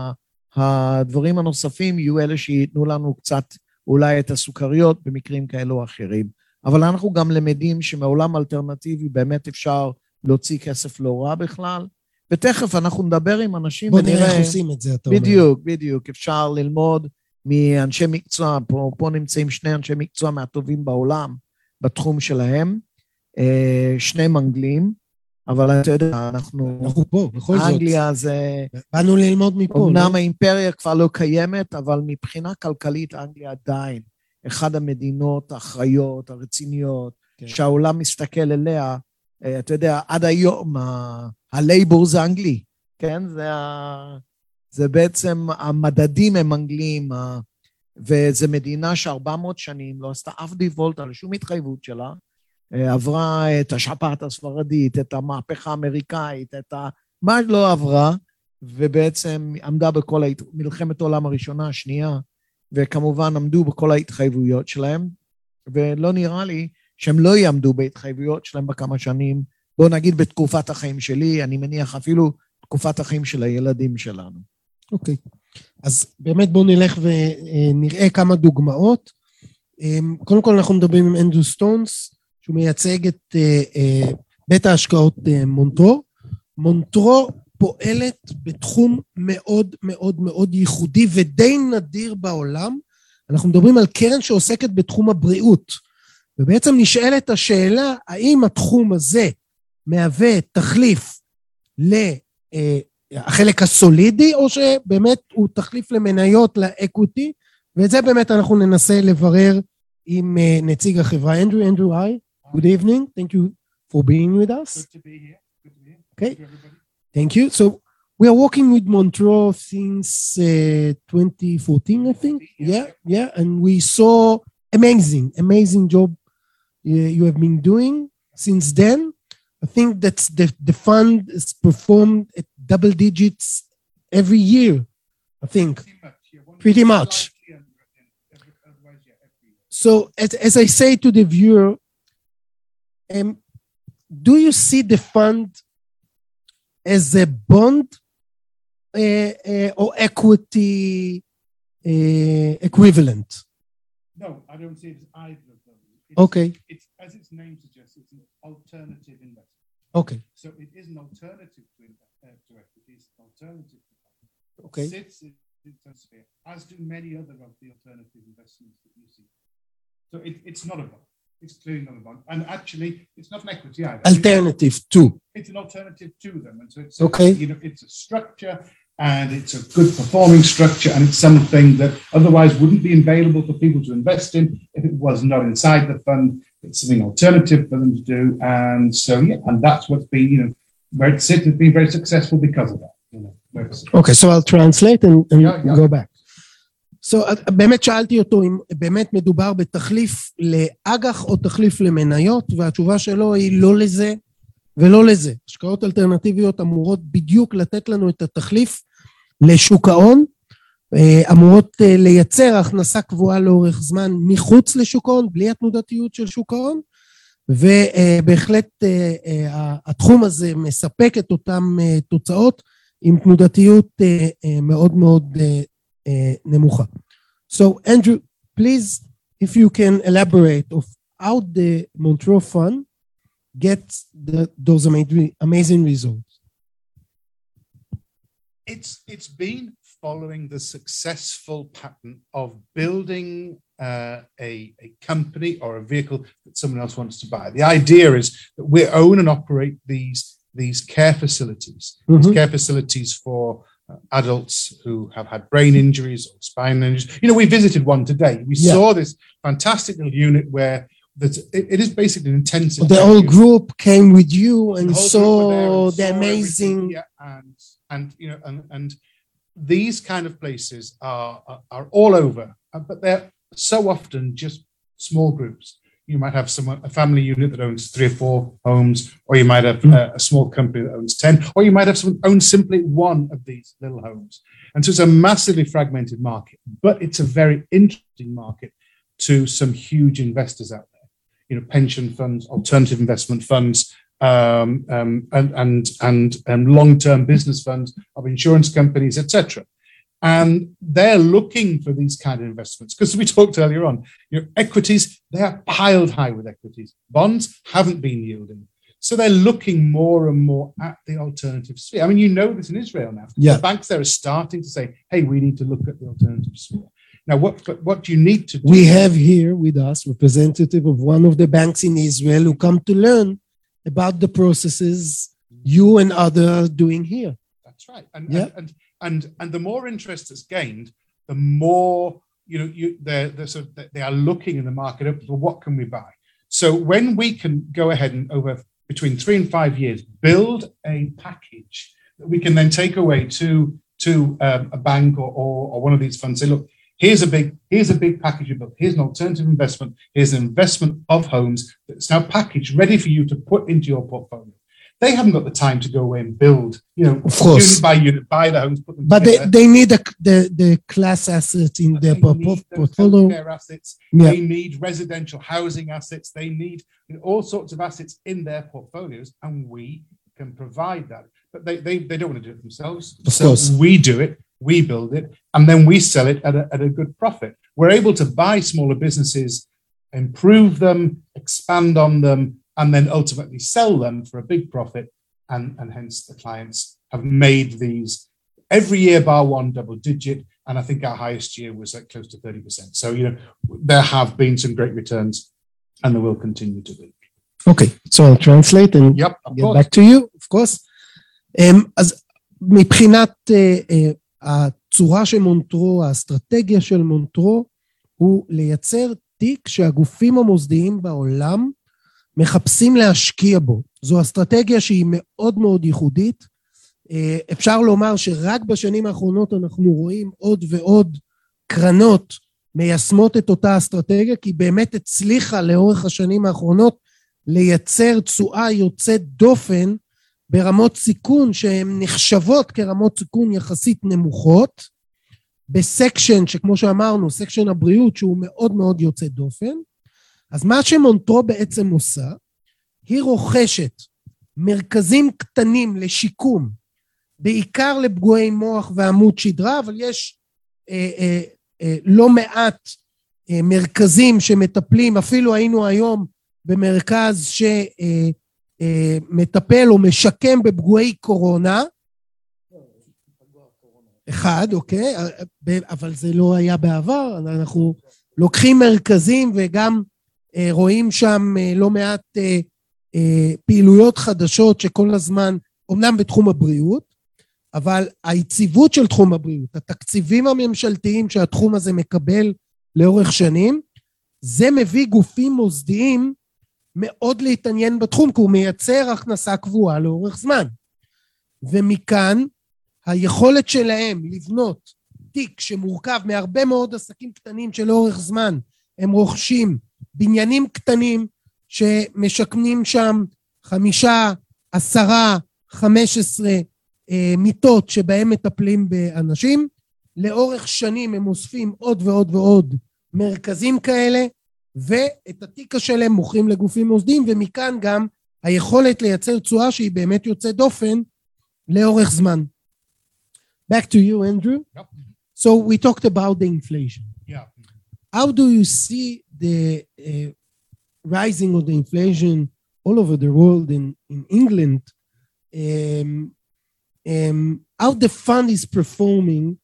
הדברים הנוספים יהיו אלה שיתנו לנו קצת אולי את הסוכריות במקרים כאלו או אחרים. אבל אנחנו גם למדים שמעולם אלטרנטיבי באמת אפשר להוציא כסף לא רע בכלל, ותכף אנחנו נדבר עם אנשים ונראה. בוא נראה איך עושים את זה, אתה אומר. בדיוק. אפשר ללמוד מאנשי מקצוע, פה נמצאים שני אנשי מקצוע מהטובים בעולם בתחום שלהם, שני אנגלים, אבל אתה יודע, אנחנו פה, בכל זאת. אנגליה זה... באנו ללמוד מפה. אמנם האימפריה כבר לא קיימת, אבל מבחינה כלכלית אנגליה עדיין, אחד המדינות האחראיות, הרציניות, שהעולם מסתכל אליה, אתה יודע, עד היום, הלייבור זה אנגלי, כן? זה בעצם, המדדים הם אנגלים, וזו מדינה ש400 שנים לא עשתה אף דיבולט על שום התחייבות שלה, עברה את השפעת הספרדית, את המהפכה האמריקאית, מה לא עברה, ובעצם עמדה בכל מלחמת העולם הראשונה, השנייה, וכמובן עמדו בכל ההתחייבויות שלהם, ולא נראה לי שהם לא יעמדו בהתחייבויות שלהם בכמה שנים, בוא נגיד בתקופת החיים שלי, אני מניח אפילו תקופת החיים של הילדים שלנו. אוקיי, אז באמת בואו נלך ונראה כמה דוגמאות. קודם כל אנחנו מדברים עם אנדרו סטונס, שהוא מייצג את בית ההשקעות מונטרו. מונטרו פועלת בתחום מאוד מאוד מאוד ייחודי ודי נדיר בעולם. אנחנו מדברים על קרן שעוסקת בתחום הבריאות, ובעצם נשאלת השאלה, האם התחום הזה מהווה תחליף לחלק הסולידי, או שבאמת הוא תחליף למניות, לאקוויטי, ואת זה באמת אנחנו ננסה לברר עם נציג החברה. אנדרו, hi. Good evening. Thank you for being with us. Good to be here. Okay. Thank you. So we are working with Montreux since 2014, I think. Yeah. And we saw amazing job you have been doing since then. I think that's the fund is performed at double digits every year, I think. Pretty much. So as I say to the viewer, do you see the fund as a bond or equity equivalent? No, I don't see it as either of those. Okay. It's, as its name suggests, it's an alternative investment. Okay. So it is an alternative to equity. It's an alternative to fund. Okay. It sits in the sphere, as do many other of the alternative investments that you see. So it's not a bond. It's clearly not a bond. And actually, it's not an equity either. Alternative to. It's an alternative to them. And so it's, okay. It's a structure, and it's a good performing structure, and it's something that otherwise wouldn't be available for people to invest in if it was not inside the fund. It's something alternative for them to do. And so, and that's what's been, where it sits, has been very successful because of that. Okay, so I'll translate and go back. So, באמת שאלתי אותו אם באמת מדובר בתחליף לאג"ח או תחליף למניות, והתשובה שלו היא לא לזה ולא לזה. השקעות אלטרנטיביות אמורות בדיוק לתת לנו את התחליף לשוק ההון, אמורות לייצר הכנסה קבועה לאורך זמן מחוץ לשוק ההון, בלי התנודתיות של שוק ההון, ובהחלט התחום הזה מספק את אותם תוצאות עם תנודתיות מאוד מאוד נמוכה. So Andrew, please, if you can elaborate of how the Montreux Fund gets those amazing results. It's been following the successful pattern of building a company or a vehicle that someone else wants to buy. The idea is that we own and operate these care facilities, these care facilities for adults who have had brain injuries or spine injuries. We visited one today. We saw this fantastic little unit where it is basically an intensive. The whole group came with you and saw the amazing. And these kind of places are all over, but they're so often just small groups. You might have a family unit that owns 3 or 4 homes, or you might have a small company that owns 10, or you might have someone own simply one of these little homes. And so it's a massively fragmented market, but it's a very interesting market to some huge investors out there. Pension funds, alternative investment funds, and long-term business funds of insurance companies, etc. And they're looking for these kind of investments because we talked earlier on, equities, they are piled high with equities. Bonds haven't been yielding. So they're looking more and more at the alternative sphere. I mean, this in Israel now. Yeah. The banks there are starting to say, hey, we need to look at the alternative sphere. Now, what do you need to do? We have here with us representative of one of the banks in Israel who come to learn about the processes you and others doing here. That's right. And the more interest that's gained, the more they are looking in the market for what can we buy. So when we can go ahead and over between 3 and 5 years build a package that we can then take away to a bank or one of these funds, say, look, here's a big package you built. Here's an alternative investment. Here's an investment of homes that's now packaged, ready for you to put into your portfolio. They haven't got the time to go away and build, of course, unit by unit, buy the homes, put them but together. They need the class assets in their portfolio. Care assets. Yeah. They need residential housing assets. They need all sorts of assets in their portfolios, and we can provide that. But they don't want to do it themselves. Of course. We do it, we build it, and then we sell it at a good profit. We're able to buy smaller businesses, improve them, expand on them, and then ultimately sell them for a big profit, and hence the clients have made these every year bar one double digit, and I think our highest year was like close to 30%. So there have been some great returns, and there will continue to be. Okay, so I'll translate and get back to you, of course. אז מבחינת הצורה של מונטרו, האסטרטגיה של מונטרו, הוא לייצר תיק שהגופים המוסדיים בעולם מחפשים להשקיע בו. זו אסטרטגיה שהיא מאוד מאוד ייחודית, אפשר לומר שרק בשנים האחרונות אנחנו רואים עוד ועוד קרנות מיישמות את אותה אסטרטגיה, כי באמת הצליחה לאורך השנים האחרונות לייצר תשואה יוצאת דופן ברמות סיכון שהן נחשבות כרמות סיכון יחסית נמוכות, בסקשן שכמו שאמרנו, סקשן הבריאות שהוא מאוד מאוד יוצא דופן. אז מה שמונטרו בעצם עושה, היא רוכשת מרכזים קטנים לשיקום, בעיקר לפגועי מוח ועמוד שדרה, אבל יש לא מעט מרכזים שמטפלים, אפילו היינו היום במרכז שמטפל או משקם בפגועי קורונה, אחד, אוקיי, אבל זה לא היה בעבר, אנחנו לוקחים מרכזים וגם רואים שם לא מעט פעילויות חדשות שכל הזמן, אומנם בתחום הבריאות, אבל היציבות של תחום הבריאות, התקציבים הממשלתיים שהתחום הזה מקבל לאורך שנים, זה מביא גופים מוסדיים מאוד להתעניין בתחום, כי הוא מייצר הכנסה קבועה לאורך זמן. ומכאן, היכולת שלהם לבנות תיק שמורכב מהרבה מאוד עסקים קטנים שלאורך זמן הם רוכשים בניינים קטנים שמשכנים שם 5, 10, 15 מיטות שבהם מטפלים באנשים. לאורך שנים הם אוספים עוד ועוד ועוד מרכזים כאלה, ואת התיק שלהם מוכרים לגופים מוסדיים, ומכאן גם היכולת לייצר תשואה שהיא באמת יוצאת דופן לאורך זמן. Back to you, Andrew. Yep. So we talked about the inflation. Yeah. How do you see the rising of the inflation all over the world in England? How the fund is performing,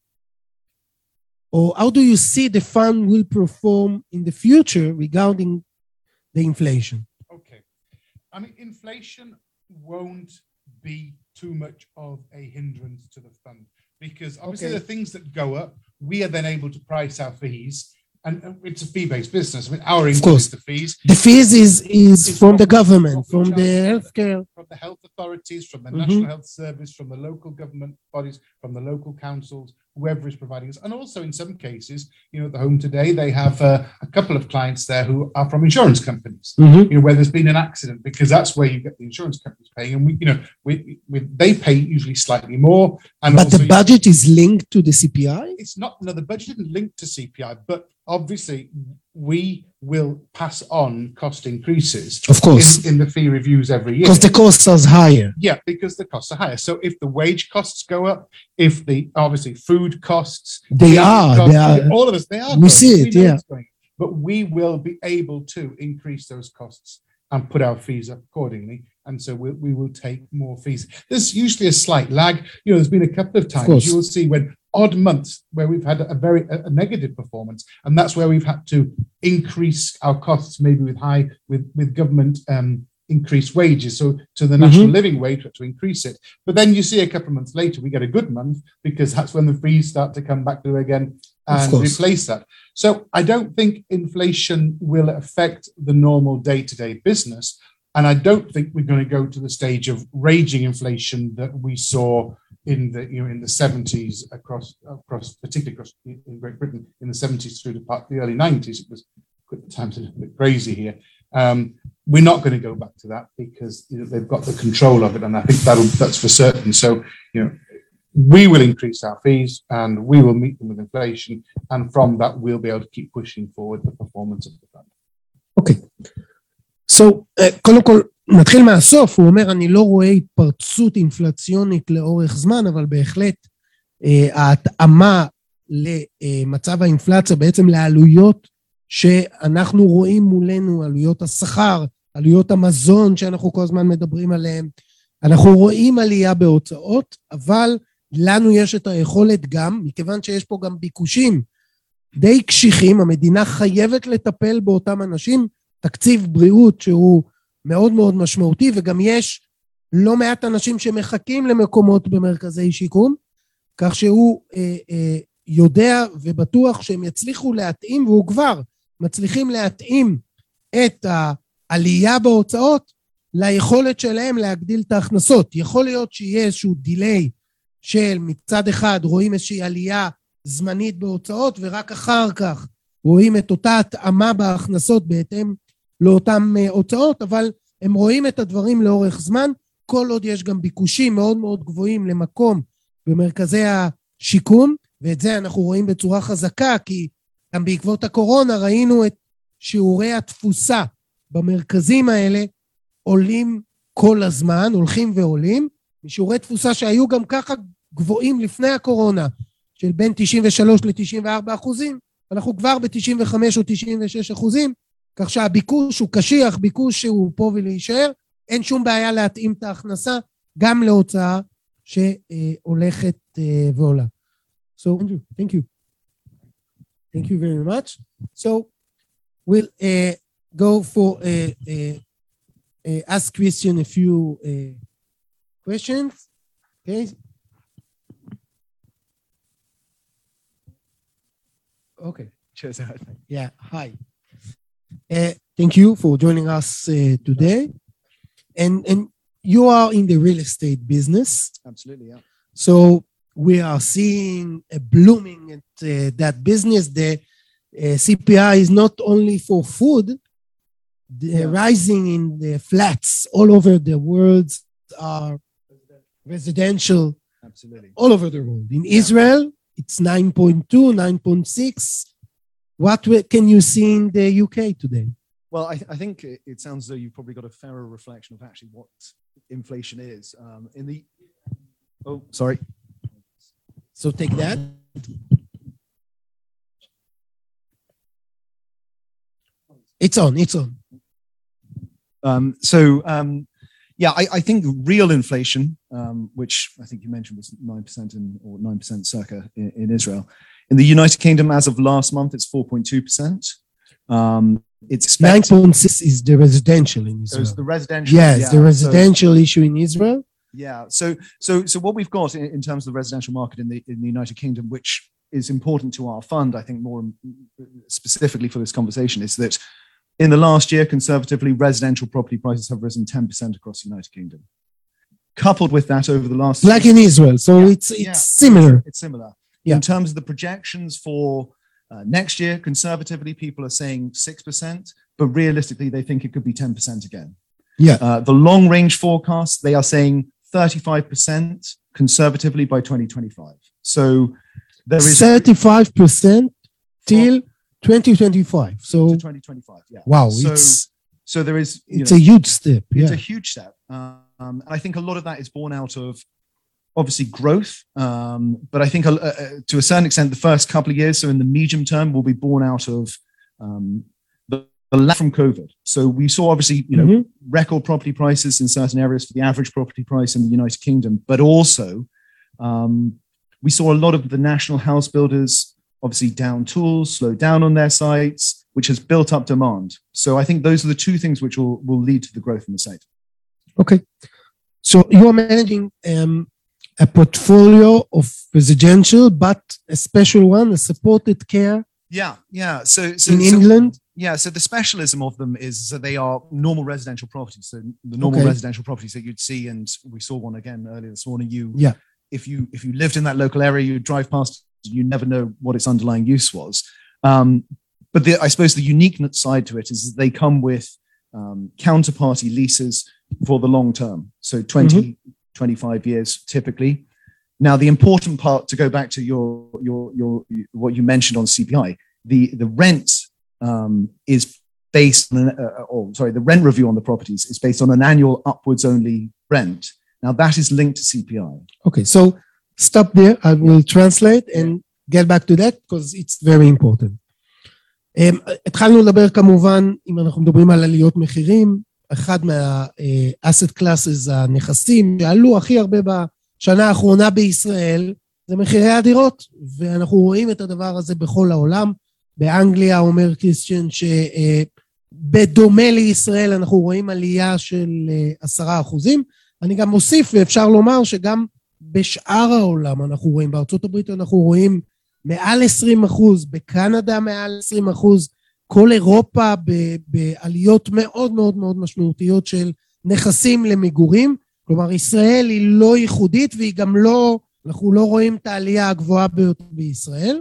or how do you see the fund will perform in the future regarding the inflation? Okay. I mean, inflation won't be too much of a hindrance to the fund, because obviously the things that go up, we are then able to price our fees, and it's a fee-based business. I mean, our income is the fees. The fees is from the government, from the healthcare. From the health authorities, from the National Health Service, from the local government bodies, from the local councils, whoever is providing us. And also in some cases, you know, at the Home Today, they have a couple of clients there who are from insurance companies, you know, where there's been an accident, because that's where you get the insurance companies paying. And we, you know, they pay usually slightly more. And but also the budget is linked to the CPI? It's not, no, the budget isn't linked to CPI, but obviously we will pass on cost increases, of course, in the fee reviews every year, because the costs are higher. Yeah, because the costs are higher. So if the wage costs go up, if the obviously food costs, they are all of us, they are. We see it, yeah. But we will be able to increase those costs and put our fees up accordingly. And so we will take more fees. There's usually a slight lag. You know, there's been a couple of times you will see when odd months where we've had a negative performance, and that's where we've had to increase our costs, maybe with government increased wages. So to the national living wage, we have to increase it. But then you see a couple of months later, we get a good month, because that's when the fees start to come back to again and replace that. So I don't think inflation will affect the normal day-to-day business. And I don't think we're going to go to the stage of raging inflation that we saw in the 70s across particularly across in Great Britain in the 70s through the early 90s. It was at times a little bit crazy here. We're not going to go back to that, because they've got the control of it, and I think that's for certain. So we will increase our fees and we will meet them with inflation, and from that we'll be able to keep pushing forward the performance of the fund. Okay. So, קודם כל, נתחיל מהסוף. הוא אומר, אני לא רואה התפרצות אינפלציונית לאורך זמן, אבל בהחלט ההתאמה למצב האינפלציה, בעצם לעלויות שאנחנו רואים מולנו, עלויות השכר, עלויות המזון שאנחנו כל הזמן מדברים עליהן, אנחנו רואים עלייה בהוצאות, אבל לנו יש את היכולת גם, מכיוון שיש פה גם ביקושים די קשיחים, המדינה חייבת לטפל באותם אנשים, תקציב בריאות שהוא מאוד מאוד משמעותי, וגם יש לא מעט אנשים שמחכים למקומות במרכזי שיקום, כך שהוא יודע ובטוח שהם יצליחו להתאים, והוא כבר מצליחים להתאים את העלייה בהוצאות ליכולת שלהם להגדיל את ההכנסות. יכול להיות שיהיה איזשהו דיליי של מצד אחד רואים איזושהי עלייה זמנית בהוצאות, ורק אחר כך רואים את אותה התאמה בהכנסות בהתאם לאותן הוצאות, אבל הם רואים את הדברים לאורך זמן, כל עוד יש גם ביקושים מאוד מאוד גבוהים למקום במרכזי השיקום, ואת זה אנחנו רואים בצורה חזקה, כי גם בעקבות הקורונה ראינו את שיעורי התפוסה במרכזים האלה עולים כל הזמן, הולכים ועולים, משיעורי תפוסה שהיו גם ככה גבוהים לפני הקורונה, של בין 93 ל-94%, אנחנו כבר ב-95 או 96%, כך שהביקוש הוא קשיח, ביקוש שהוא פה ולהישאר, אין שום בעיה להתאים את ההכנסה, גם להוצאה שהולכת ועולה. So, Andrew, thank you. Thank you very much. So, we'll go for ask Christian a few questions. Okay. Okay. Yeah. Hi. Thank you for joining us today. And you are in the real estate business. Absolutely, yeah. So we are seeing a blooming at that business. The CPI is not only for food. The rising in the flats all over the world are residential. Absolutely. All over the world. In Israel, it's 9.2, 9.6. What can you see in the UK today? Well, I think it sounds as though you've probably got a fairer reflection of actually what inflation is. Oh, sorry. So take that. It's on. I think real inflation, which I think you mentioned was 9% or 9% circa in Israel. In the United Kingdom, as of last month, it's 4.2%. It's 9.6 is the residential in Israel. So the residential. Yes, the residential issue in Israel. Yeah. So what we've got in terms of the residential market in the United Kingdom, which is important to our fund, I think more specifically for this conversation, is that in the last year, conservatively, residential property prices have risen 10% across the United Kingdom. Coupled with that, over the last like in Israel, so it's similar. It's similar. Yeah. In terms of the projections for next year, conservatively, people are saying 6%, but realistically, they think it could be 10% again. Yeah. The long-range forecast, they are saying 35% conservatively by 2025. So there is 35% till 2025. So to 2025. Yeah. Wow. So there is. It's a huge step. It's a huge step. And I think a lot of that is born out of obviously growth. But I think to a certain extent, the first couple of years, so in the medium term, will be born out of the lag from COVID. So we saw obviously, record property prices in certain areas for the average property price in the United Kingdom, but also we saw a lot of the national house builders obviously down tools, slow down on their sites, which has built up demand. So I think those are the two things which will lead to the growth in the site. Okay. So you are managing a portfolio of residential, but a special one, a supported care. Yeah. So in England? Yeah, so the specialism of them is that they are normal residential properties. So the normal residential properties that you'd see, and we saw one again earlier this morning. If you lived in that local area, you drive past, you never know what its underlying use was. But I suppose the unique side to it is that they come with counterparty leases for the long term. So 20, 25 years typically. Now, the important part, to go back to your what you mentioned on CPI, the rent is based on the rent review on the properties is based on an annual upwards only rent. Now that is linked to CPI. Okay, so stop there. I will translate and get back to that because it's very important. התחלנו לדבר כמובן, אם אנחנו מדברים על עליות מחירים, אחד מה-asset classes, הנכסים שעלו הכי הרבה בשנה האחרונה בישראל, זה מחירי הדירות, ואנחנו רואים את הדבר הזה בכל העולם. באנגליה אומר קריסטיאן שבדומה לישראל אנחנו רואים עלייה של 10%. אני גם מוסיף, ואפשר לומר שגם בשאר העולם אנחנו רואים, בארצות הברית אנחנו רואים מעל 20%, בקנדה מעל 20%, כל אירופה בעליות מאוד מאוד מאוד משמעותיות של נכסים למגורים. כלומר, ישראל היא לא ייחודית והיא גם לא אנחנו לא רואים את העלייה הגבוהה ביותר בישראל.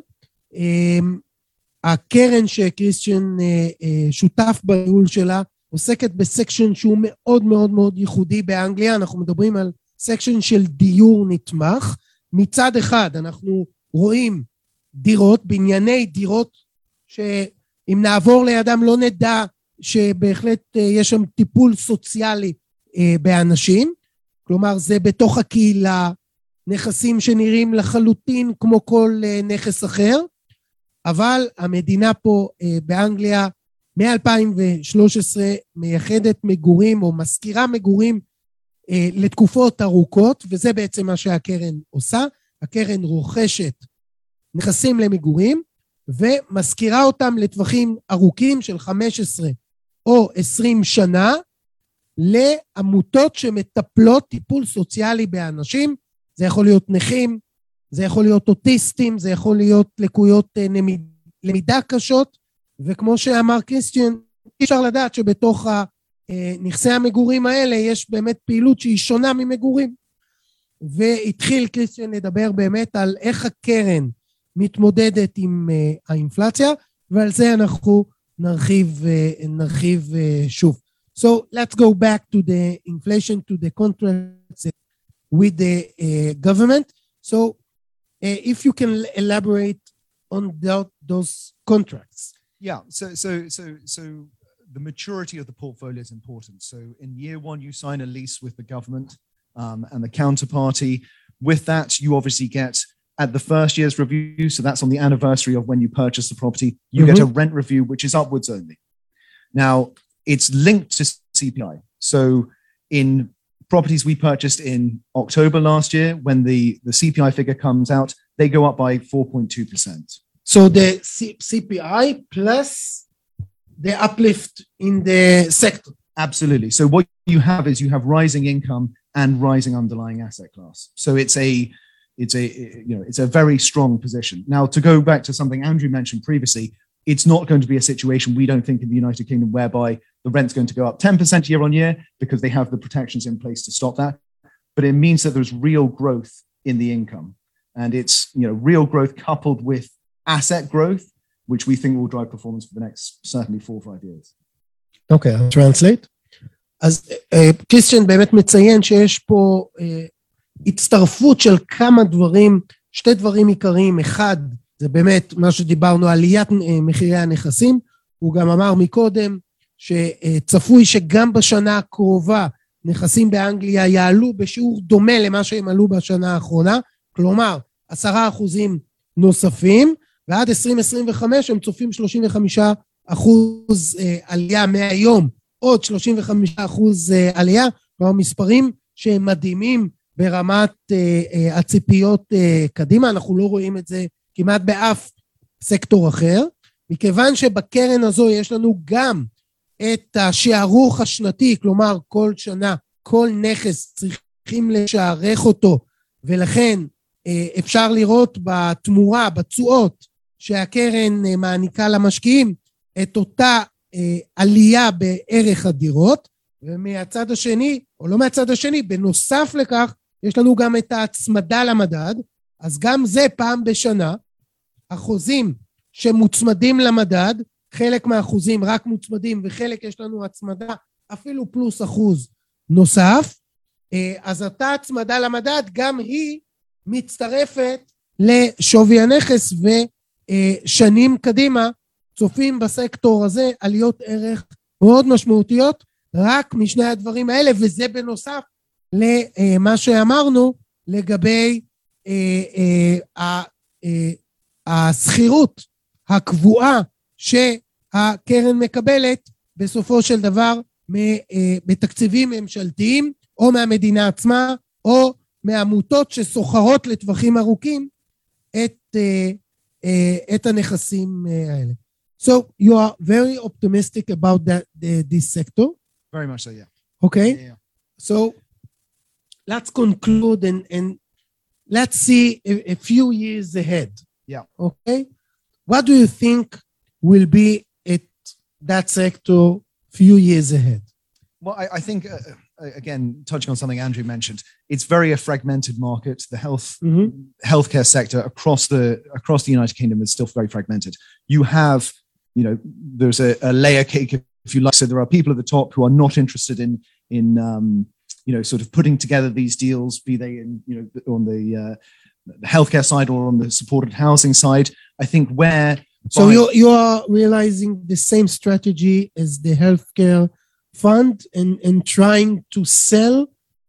הקרן שקריסטיאן שותף בניהול שלה, עוסקת בסקשן שהוא מאוד מאוד מאוד ייחודי באנגליה, אנחנו מדברים על סקשן של דיור נתמך. מצד אחד אנחנו רואים דירות, בנייני דירות, שאם נעבור לידם לא נדע שבהחלט יש שם טיפול סוציאלי באנשים, כלומר זה בתוך הקהילה, נכסים שנראים לחלוטין כמו כל נכס אחר, אבל המדינה פה באנגליה מ-2013 מייחדת מגורים או מזכירה מגורים לתקופות ארוכות, וזה בעצם מה שהקרן עושה. הקרן רוכשת נכסים למגורים ומזכירה אותם לטווחים ארוכים של 15 או 20 שנה לעמותות שמטפלות טיפול סוציאלי באנשים. זה יכול להיות נכים, זה יכול להיות אוטיסטים, זה יכול להיות לקויות למידה קשות, וכמו שאמר קריסטיאן, אי אפשר לדעת שבתוך נכסי המגורים האלה יש באמת פעילות שהיא שונה ממגורים. והתחיל קריסטיאן לדבר באמת על איך הקרן מתמודדת עם האינפלציה, ועל זה אנחנו נרחיב שוב. So let's go back to the inflation, to the contracts with the government. So if you can elaborate on those contracts. Yeah, so the maturity of the portfolio is important. So in year one, you sign a lease with the government and the counterparty. With that, you obviously get at the first year's review, so that's on the anniversary of when you purchase the property, you get a rent review, which is upwards only. Now, it's linked to CPI. So in properties we purchased in October last year, when the CPI figure comes out, they go up by 4.2%. So the CPI plus the uplift in the sector. Absolutely. So what you have is you have rising income and rising underlying asset class. So it's a very strong position. Now, to go back to something Andrew mentioned previously, it's not going to be a situation, we don't think, in the United Kingdom whereby the rent's going to go up 10% year on year because they have the protections in place to stop that. But it means that there's real growth in the income. And it's, real growth coupled with asset growth, which we think will drive performance for the next, certainly 4 or 5 years. Okay, I'll translate. אז קריסטיאן באמת מציין שיש פה הצטרפות של כמה דברים, 2 דברים עיקריים. אחד, זה באמת מה שדיברנו, עליית מחירי הנכסים. הוא גם אמר מקודם שצפוי שגם בשנה הקרובה נכסים באנגליה יעלו בשיעור דומה למה שהם עלו בשנה האחרונה, כלומר 10% נוספים, ועד 2025 הם צופים 35% עלייה מהיום, עוד 35% עלייה, כלומר מספרים שהם מדהימים ברמת הציפיות קדימה. אנחנו לא רואים את זה כמעט באף סקטור אחר, מכיוון שבקרן הזו יש לנו גם את השערוך השנתי, כלומר כל שנה, כל נכס צריכים לשערך אותו, ולכן אפשר לראות בתמורה, בתשואות שהקרן מעניקה למשקיעים, את אותה עלייה בערך הדירות, ומהצד השני, או לא מהצד השני, בנוסף לכך, יש לנו גם את ההצמדה למדד, אז גם זה פעם בשנה, החוזים שמוצמדים למדד, חלק מהאחוזים רק מוצמדים, וחלק יש לנו הצמדה, אפילו פלוס אחוז נוסף, אז אותה הצמדה למדד, גם היא מצטרפת לשווי הנכס, ושנים קדימה, צופים בסקטור הזה עליות ערך מאוד משמעותיות, רק משני הדברים האלה, וזה בנוסף למה שאמרנו לגבי הסחירות הקבועה שהקרן מקבלת בסופו של דבר בתקציבים ממשלתיים, או מהמדינה עצמה, או מעמותות שסוחרות לטווחים ארוכים את הנכסים האלה. So you are very optimistic about this sector? Very much so, yeah. Okay. Yeah. So let's conclude and let's see a few years ahead. Yeah. Okay. What do you think will be at that sector few years ahead? Well, I think again, touching on something Andrew mentioned, it's very a fragmented market. The healthcare sector across the United Kingdom is still very fragmented. You have, there's a layer cake, if you like. So there are people at the top who are not interested in sort of putting together these deals, be they in, on the healthcare side or on the supported housing side. I think So you are realizing the same strategy as the healthcare fund and trying to sell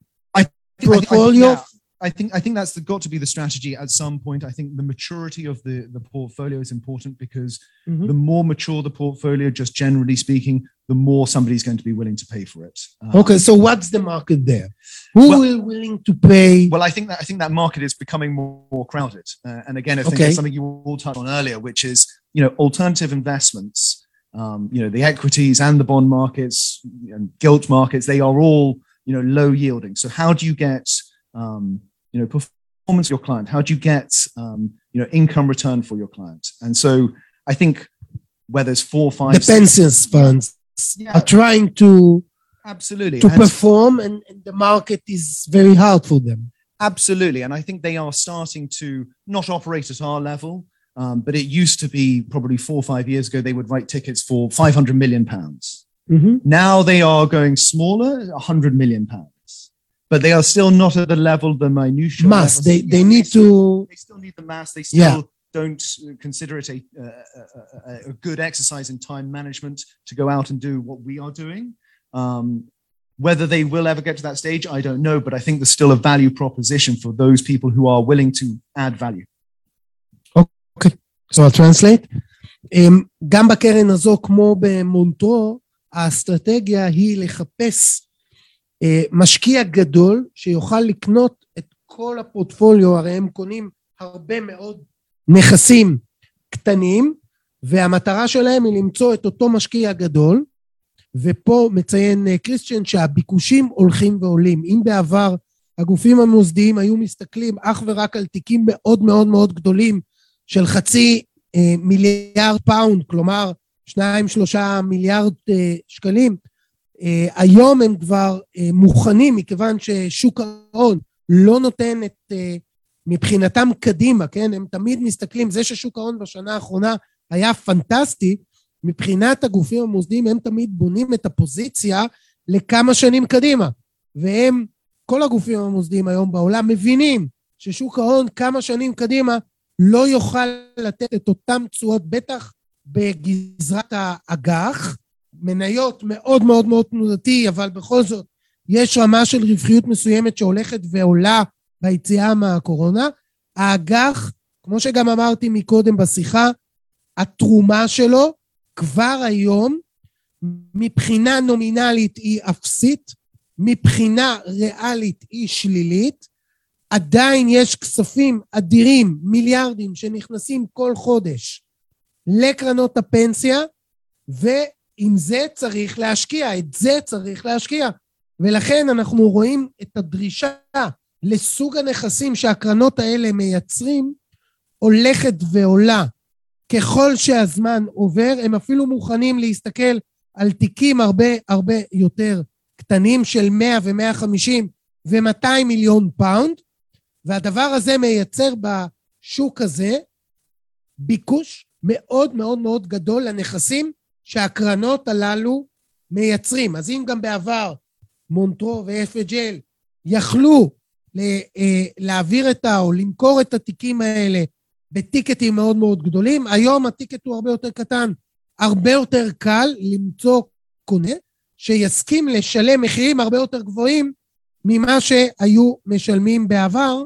portfolio? I think that's got to be the strategy at some point. I think the maturity of the portfolio is important because the more mature the portfolio, just generally speaking, the more somebody's going to be willing to pay for it. Okay, so what's the market there? Who will willing to pay? Well, I think that market is becoming more crowded. And again, I think it's something you all touched on earlier, which is, alternative investments, the equities and the bond markets and gilt markets, they are all, low yielding. So how do you get, performance for your client? How do you get, income return for your client? And so I think where there's 4 or 5... The pensions funds are trying to... Absolutely. To perform, and the market is very hard for them. Absolutely. And I think they are starting to not operate at our level, but it used to be probably 4 or 5 years ago, they would write tickets for £500 million. Now they are going smaller, £100 million. But they are still not at the level, the minutiae. Mass. They need to... They still need the mass. They still don't consider it a good exercise in time management to go out and do what we are doing. Whether they will ever get to that stage, I don't know, but I think there's still a value proposition for those people who are willing to add value. Okay, so I'll translate. גם בקרן הזו, כמו במונטרו, האסטרטגיה היא לחפש משקיע גדול שיוכל לקנות את כל הפורטפוליו, הרי הם קונים הרבה מאוד נכסים קטנים, והמטרה שלהם היא למצוא את אותו משקיע גדול, ופה מציין קריסטיאן שהביקושים הולכים ועולים. אם בעבר הגופים המוסדיים היו מסתכלים אך ורק על תיקים מאוד מאוד מאוד גדולים של $0.5 מיליארד, כלומר 2-3 מיליארד שקלים, היום הם כבר מוכנים, מכיוון ששוק ההון לא נותן את מבחינתם קדימה, כן? הם תמיד מסתכלים, זה ששוק ההון בשנה האחרונה היה פנטסטי, מבחינת הגופים המוסדיים הם תמיד בונים את הפוזיציה לכמה שנים קדימה, והם, כל הגופים המוסדיים היום בעולם מבינים ששוק ההון כמה שנים קדימה לא יוכל לתת את אותם תשואות, בטח בגזרת האג"ח, מניות מאוד מאוד מאוד תנודתי, אבל בכל זאת יש רמה של רווחיות מסוימת שהולכת ועולה ביציאה מהקורונה. האג"ח, כמו שגם אמרתי מקודם בשיחה, התרומה שלו כבר היום מבחינה נומינלית היא אפסית, מבחינה ריאלית היא שלילית, עדיין יש כספים אדירים, מיליארדים שנכנסים כל חודש לקרנות הפנסיה, ועם זה צריך להשקיע, את זה צריך להשקיע, ולכן אנחנו רואים את הדרישה לסוג הנכסים שהקרנות האלה מייצרים, הולכת ועולה. ככל שהזמן עובר, הם אפילו מוכנים להסתכל על תיקים הרבה יותר קטנים של 100 ו-150 ו-200 מיליון פאונד, והדבר הזה מייצר בשוק הזה ביקוש מאוד מאוד מאוד גדול לנכסים שהקרנות הללו מייצרים. אז אם גם בעבר מונטרו ו-FGL יכלו להעביר או למכור את התיקים האלה בטיקטים מאוד מאוד גדולים, היום הטיקט הוא הרבה יותר קטן, הרבה יותר קל למצוא קונה שיסכים לשלם מחירים הרבה יותר גבוהים ממה שהיו משלמים בעבר,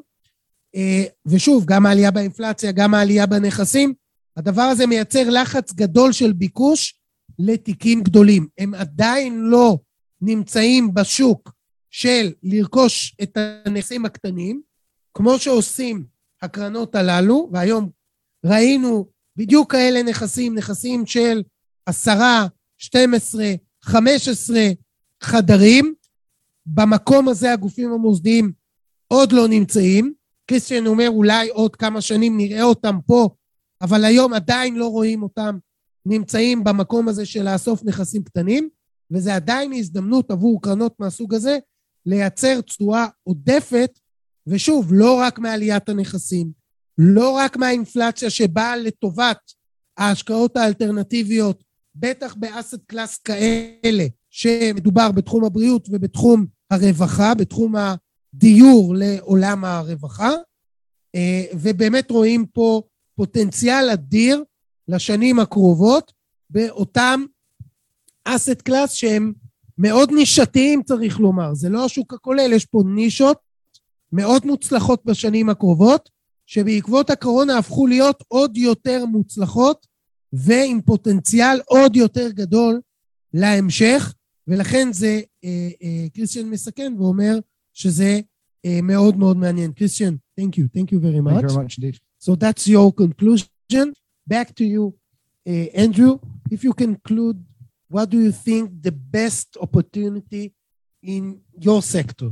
ושוב, גם העלייה באינפלציה, גם העלייה בנכסים, הדבר הזה מייצר לחץ גדול של ביקוש לתיקים גדולים. הם עדיין לא נמצאים בשוק של לרכוש את הנכסים הקטנים, כמו שעושים הקרנות הללו, והיום ראינו בדיוק כאלה נכסים של 10, 12, 15 חדרים, במקום הזה הגופים המוסדיים עוד לא נמצאים, קריסטיאן אומר אולי עוד כמה שנים נראה אותם פה, אבל היום עדיין לא רואים אותם נמצאים במקום הזה של לאסוף נכסים קטנים, וזה עדיין הזדמנות עבור קרנות מהסוג הזה, לייצר תשואה עודפת, ושוב, לא רק מעליית הנכסים, לא רק מהאינפלציה שבאה לטובת ההשקעות האלטרנטיביות, בטח באסט קלאס כאלה, שמדובר בתחום הבריאות ובתחום הרווחה, בתחום הדיור לעולם הרווחה, ובאמת רואים פה פוטנציאל אדיר לשנים הקרובות, באותם אסט קלאס שהם מאוד נישתיים צריך לומר, זה לא השוק הכולל, יש פה נישות מאוד מוצלחות בשנים הקרובות, שבעקבות הקורונה הפכו להיות עוד יותר מוצלחות, ועם פוטנציאל עוד יותר גדול להמשך, ולכן זה, קריסטיאן מסכן ואומר שזה מאוד מאוד מעניין. קריסטיאן, thank you very much. Thank you very much indeed. So that's your conclusion. Back to you, Andrew. If you conclude, what do you think the best opportunity in your sector?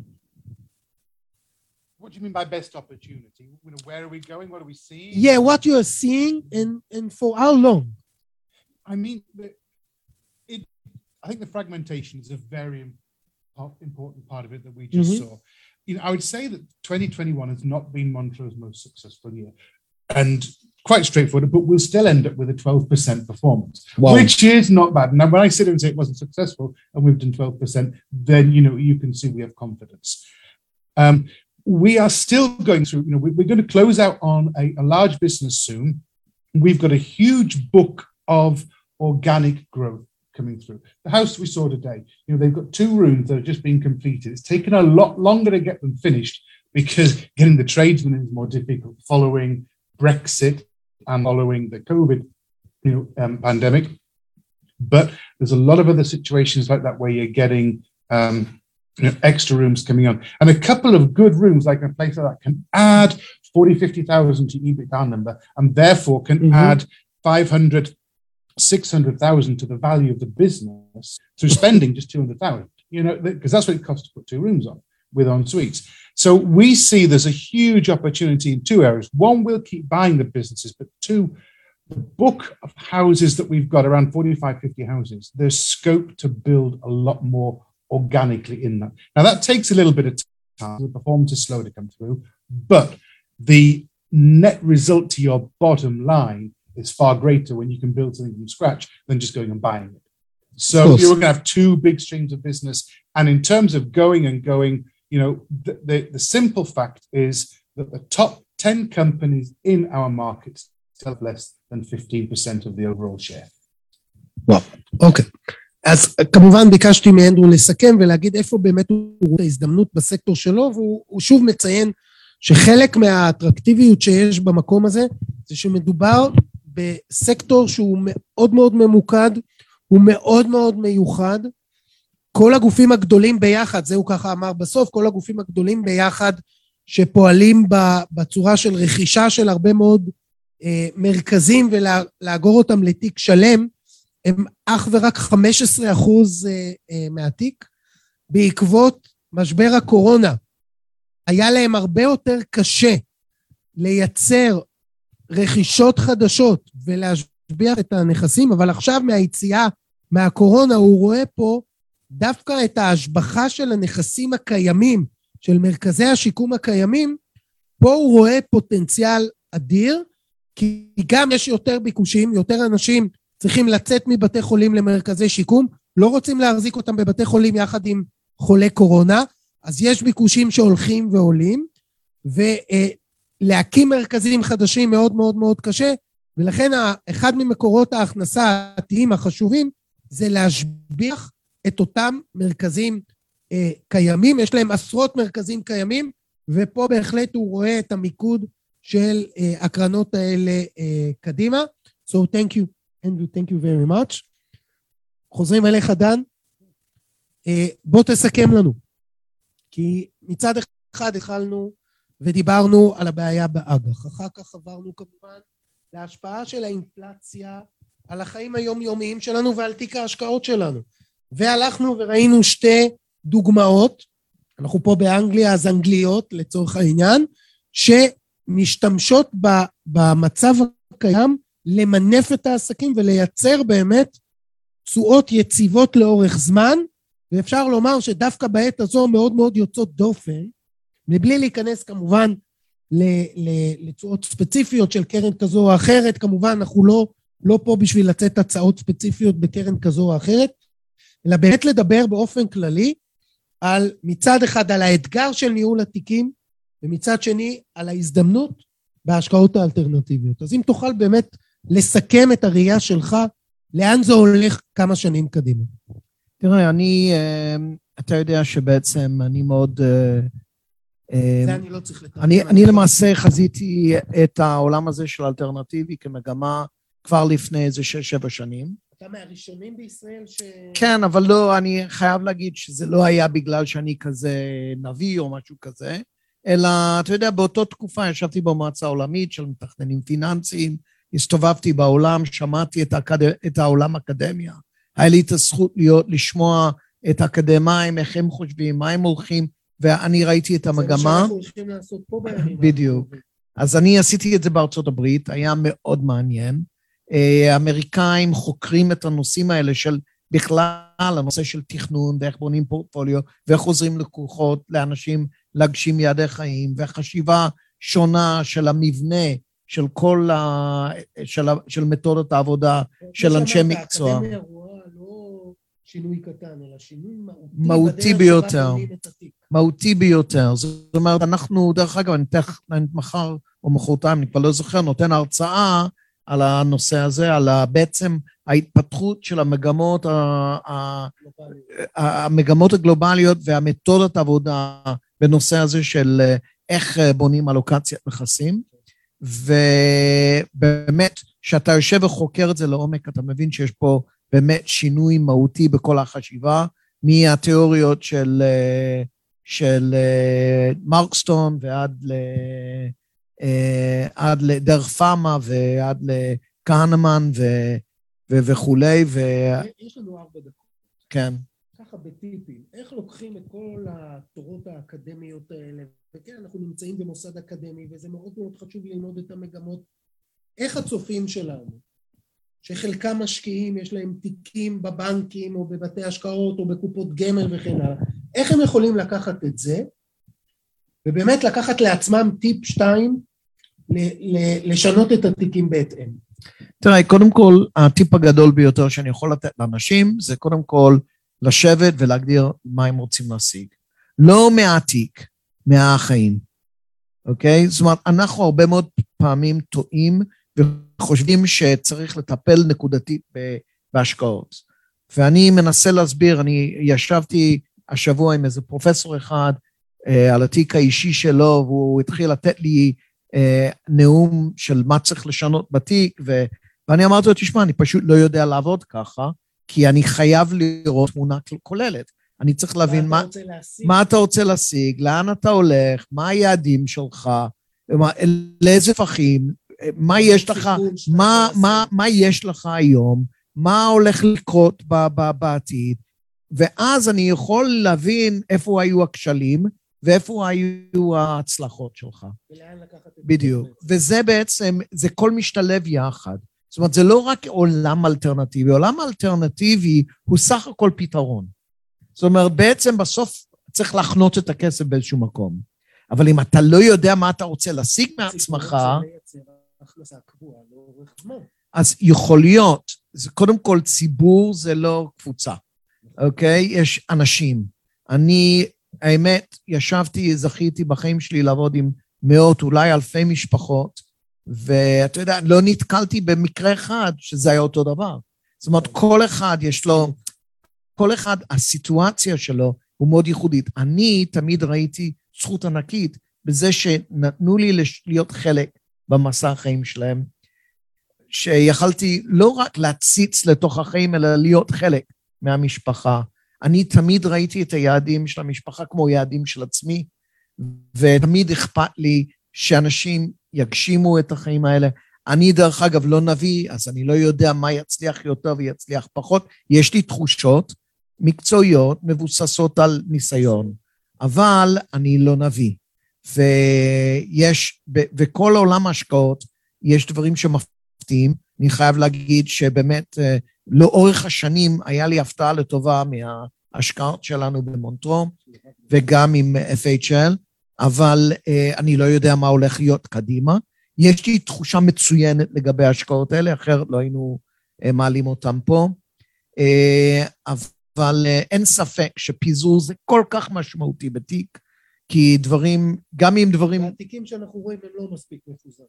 What do you mean by best opportunity? Where are we going? What are we seeing? Yeah, what you are seeing and for how long? I mean, I think the fragmentation is a very important part of it that we just saw. I would say that 2021 has not been Montro's most successful year. And quite straightforward, but we'll still end up with a 12% performance, wow, which is not bad. Now, when I sit and say it wasn't successful and we've done 12%, then, you can see we have confidence. We are still going through, we're going to close out on a large business soon. We've got a huge book of organic growth coming through. The house we saw today, they've got 2 rooms that are just being completed. It's taken a lot longer to get them finished because getting the tradesmen in is more difficult following Brexit and following the COVID, pandemic. But there's a lot of other situations like that where you're getting extra rooms coming on. And a couple of good rooms, like a place like that, can add 40,000-50,000 to EBITDA number, and therefore can add 500,000, 600,000 to the value of the business through spending just 200,000, because that's what it costs to put 2 rooms on with en suites. So we see there's a huge opportunity in 2 areas. One, we'll keep buying the businesses, but 2, the book of houses that we've got, around 45, 50 houses, there's scope to build a lot more organically in that. Now, that takes a little bit of time. The performance is slow to come through, but the net result to your bottom line is far greater when you can build something from scratch than just going and buying it. So you're going to have 2 big streams of business. And in terms of going, the simple fact is that the top 10 companies in our markets still have less than 15% of the overall share. וואו, אוקיי. אז כמובן ביקשתי מאנדרו לסכם ולהגיד איפה באמת הוא רואה את ההזדמנות בסקטור שלו, והוא שוב מציין שחלק מהאטרקטיביות שיש במקום הזה, זה שמדובר בסקטור שהוא מאוד מאוד ממוקד, הוא מאוד מאוד מיוחד, כל הגופים הגדולים ביחד, זהו ככה אמר בסוף, כל הגופים הגדולים ביחד שפועלים בצורה של רכישה של הרבה מאוד מרכזים ולאגור אותם לתיק שלם, הם אך ורק 15% מהתיק. בעקבות משבר הקורונה, היה להם הרבה יותר קשה לייצר רכישות חדשות ולהשביח את הנכסים, אבל עכשיו מהיציאה מהקורונה הוא רואה פה דווקא את ההשבחה של הנכסים הקיימים, של מרכזי השיקום הקיימים, פה הוא רואה פוטנציאל אדיר, כי גם יש יותר ביקושים, יותר אנשים צריכים לצאת מבתי חולים למרכזי שיקום, לא רוצים להחזיק אותם בבתי חולים יחד עם חולי קורונה, אז יש ביקושים שהולכים ועולים, ולהקים מרכזים חדשים מאוד מאוד מאוד קשה, ולכן אחד ממקורות ההכנסה העתיים החשובים, זה להשביח את אותם מרכזים קיימים, יש להם עשרות מרכזים קיימים, ופה בהחלט הוא רואה את המיקוד של הקרנות האלה קדימה. So thank you, Andrew, thank you very much. חוזרים אליך דן, בוא תסכם לנו, כי מצד אחד התחלנו ודיברנו על הבעיה באג"ח, אחר כך עברנו כמובן להשפעה של האינפלציה על החיים היומיומיים שלנו ועל תיק ההשקעות שלנו, והלכנו וראינו 2 דוגמאות, אנחנו פה באנגליה, אז אנגליות לצורך העניין, שמשתמשות במצב הקיים למנף את העסקים ולייצר באמת תשואות יציבות לאורך זמן, ואפשר לומר שדווקא בעת הזו מאוד מאוד יוצאות דופן, מבלי להיכנס כמובן לתשואות ספציפיות של קרן כזו או אחרת, כמובן אנחנו לא פה בשביל לצאת הצעות ספציפיות בקרן כזו או אחרת, אלא באמת לדבר באופן כללי על מצד אחד על האתגר של ניהול התיקים, ומצד שני על ההזדמנות בהשקעות האלטרנטיביות. אז אם תוכל באמת לסכם את הראייה שלך, לאן זה הולך כמה שנים קדימה? תראה, אתה יודע שבעצם אני מאוד... זה אני לא צריך לתאר. אני למעשה חזיתי את העולם הזה של אלטרנטיבי כמגמה כבר לפני איזה 6-7 שנים. אתה מהראשונים בישראל כן, אבל לא, אני חייב להגיד שזה לא היה בגלל שאני כזה נביא או משהו כזה, אלא, אתה יודע, באותה תקופה ישבתי במועצה העולמית של מתכננים פיננסיים, הסתובבתי בעולם, שמעתי את העולם האקדמיה, היה לי את הזכות לשמוע את האקדמיים, איך הם חושבים, מה הם הולכים, ואני ראיתי את המגמה. זה מה שאנחנו הולכים לעשות פה בימים. בדיוק. אז אני עשיתי את זה בארצות הברית, היה מאוד מעניין. האמריקאים חוקרים את הנושאים האלה של בכלל, הנושא של תכנון, ואיך בונים פורטפוליו, ואיך עוזרים לקוחות, לאנשים להגשים יעדי חיים, והחשיבה שונה של המבנה, של כל של מתודת העבודה, של אנשי מקצוע. האקדמיה רואה לא שינוי קטן, אלא שינוי מהותי ביותר. מהותי ביותר. זאת אומרת, אנחנו, דרך אגב, אני מחר או מחרתיים, אני כבר לא זוכר, נותן הרצאה על הנושא הזה, על בעצם ההתפתחות של המגמות הגלובליות והמתודת העבודה בנושא הזה של איך בונים אלוקציית נכסים, ובאמת, כשאתה יושב וחוקר את זה לעומק, אתה מבין שיש פה באמת שינוי מהותי בכל החשיבה, מהתיאוריות של מרקסטון ועד לדרך פאמה ועד לקהנמן וכולי. יש לנו 4 דקות. כן. ככה בטיפים, איך לוקחים את כל התורות האקדמיות האלה, וכן, אנחנו נמצאים במוסד אקדמי, וזה מאוד מאוד חשוב ללמוד את המגמות, איך הצופים שלנו, שחלקם משקיעים, יש להם תיקים בבנקים, או בבתי השקעות, או בקופות גמל וכן הלאה, איך הם יכולים לקחת את זה, ובאמת לקחת לעצמם טיפ 2, לשנות את התיקים בהתאם. תראה, קודם כל, הטיפ הגדול ביותר שאני יכול לתת לאנשים, זה קודם כל לשבת ולהגדיר מה הם רוצים להשיג. לא מהתיק, מהחיים. אוקיי? זאת אומרת, אנחנו הרבה מאוד פעמים טועים, וחושבים שצריך לטפל נקודתית בהשקעות. ואני מנסה להסביר, אני ישבתי השבוע עם איזה פרופסור אחד, על התיק האישי שלו, והוא התחיל לתת לי נאום של מה צריך לשנות בתיק, ואני אמרתי לו, תשמע, אני פשוט לא יודע לעבוד ככה, כי אני חייב לראות תמונה כוללת. אני צריך להבין מה אתה רוצה להשיג, לאן אתה הולך, מה היעדים שלך, לאיזה פחים, מה יש לך, מה יש לך היום, מה הולך לקרות בעתיד, ואז אני יכול להבין איפה היו הכשלים, ואיפה היו ההצלחות שלך. בדיוק. וזה בעצם, זה כל משתלב יחד. זאת אומרת, זה לא רק עולם אלטרנטיבי, עולם אלטרנטיבי הוא סך הכל פתרון. זאת אומרת, בעצם בסוף צריך להכנות את הכסף באיזשהו מקום. אבל אם אתה לא יודע מה אתה רוצה להשיג מעצמך, אז יכול להיות, קודם כל ציבור זה לא קבוצה, אוקיי? יש אנשים. אני, האמת, זכיתי בחיים שלי לעבוד עם מאות, אולי אלפי משפחות, ואתה יודע, לא נתקלתי במקרה אחד שזה היה אותו דבר. זאת אומרת, כל אחד יש לו, כל אחד, הסיטואציה שלו הוא מאוד ייחודית. אני תמיד ראיתי זכות ענקית בזה שנתנו לי להיות חלק במסע החיים שלהם, שיכלתי לא רק להציץ לתוך החיים, אלא להיות חלק מהמשפחה. אני תמיד ראיתי את היעדים של המשפחה כמו יעדים של עצמי, ותמיד אכפת לי שאנשים יגשימו את החיים האלה. אני דרך אגב לא נביא, אז אני לא יודע מה יצליח יותר ויצליח פחות. יש לי תחושות מקצועיות מבוססות על ניסיון, אבל אני לא נביא. וכל עולם ההשקעות, יש דברים שמפתיעים. אני חייב להגיד שבאמת לאורך השנים היה לי הפתעה לטובה מההשקעות שלנו במונטרו, וגם עם FHL, אבל אני לא יודע מה הולך להיות קדימה. יש לי תחושה מצוינת לגבי ההשקעות האלה, אחרת לא היינו מעלים אותם פה, אבל אין ספק שפיזור זה כל כך משמעותי בתיק, כי דברים, גם אם דברים... התיקים שאנחנו רואים הם לא מספיק מפוזרים.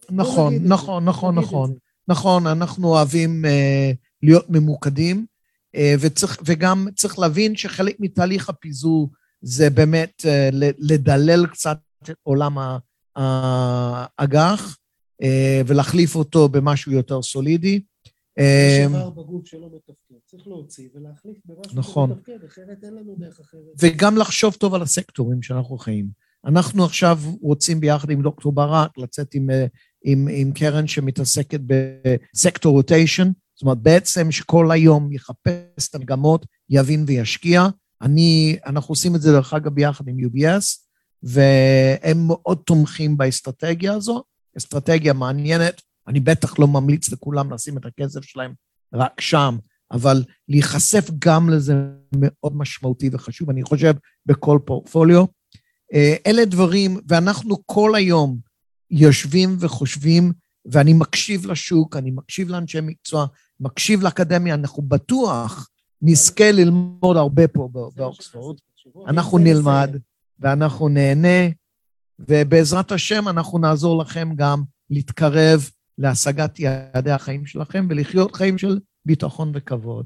נכון, אנחנו אוהבים להיות ממוקדים, וגם צריך להבין שחלק מתהליך הפיזור זה באמת לדלל קצת את עולם האג"ח, ולהחליף אותו במשהו יותר סולידי. יש דבר בגוף שלא מתפקד, צריך להוציא ולהחליף במשהו שמתפקד, אחרת אין לנו דרך אחרת. וגם לחשוב טוב על הסקטורים שאנחנו חיים. אנחנו עכשיו רוצים ביחד עם דוקטור ברק לצאת עם קרן שמתעסקת בסקטור רוטיישן, זאת אומרת בעצם שכל היום יחפש את המגמות, יבין וישקיע. אנחנו עושים את זה דרך אגב ביחד עם UBS, והם מאוד תומכים באסטרטגיה הזו, אסטרטגיה מעניינת, אני בטח לא ממליץ לכולם לשים את הכסף שלהם רק שם, אבל להיחשף גם לזה מאוד משמעותי וחשוב, אני חושב בכל פורטפוליו. אלה דברים, ואנחנו כל היום יושבים וחושבים, ואני מקשיב לשוק, אני מקשיב לאנשי מקצוע, מקשיב לאקדמיה, אנחנו בטוח נזכה ללמוד הרבה פה באוקספורד, אנחנו נלמד ואנחנו נהנה, ובעזרת השם אנחנו נעזור לכם גם להתקרב להשגת יעדי החיים שלכם, ולחיות חיים של ביטחון וכבוד.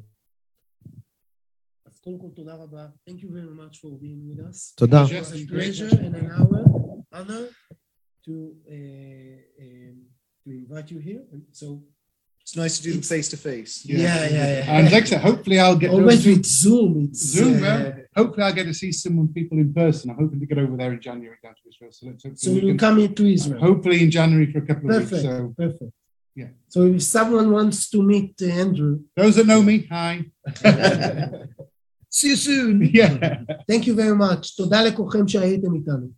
אז קודם כל תודה רבה. Thank you very much for being with us. תודה. It was a pleasure and an honor to invite you here. And so it's nice to do them face to face. Yeah. And next, hopefully I'll get always with Zoom. Zoom. Hopefully I'll get to see some people in person. I'm hoping to get over there in January down to Israel. So you'll come into Israel. Hopefully in January for a couple of weeks. Perfect. Yeah. So if someone wants to meet Andrew, those that know me, hi. See you soon. Yeah. Thank you very much. תודה לכולכם שהייתם איתנו.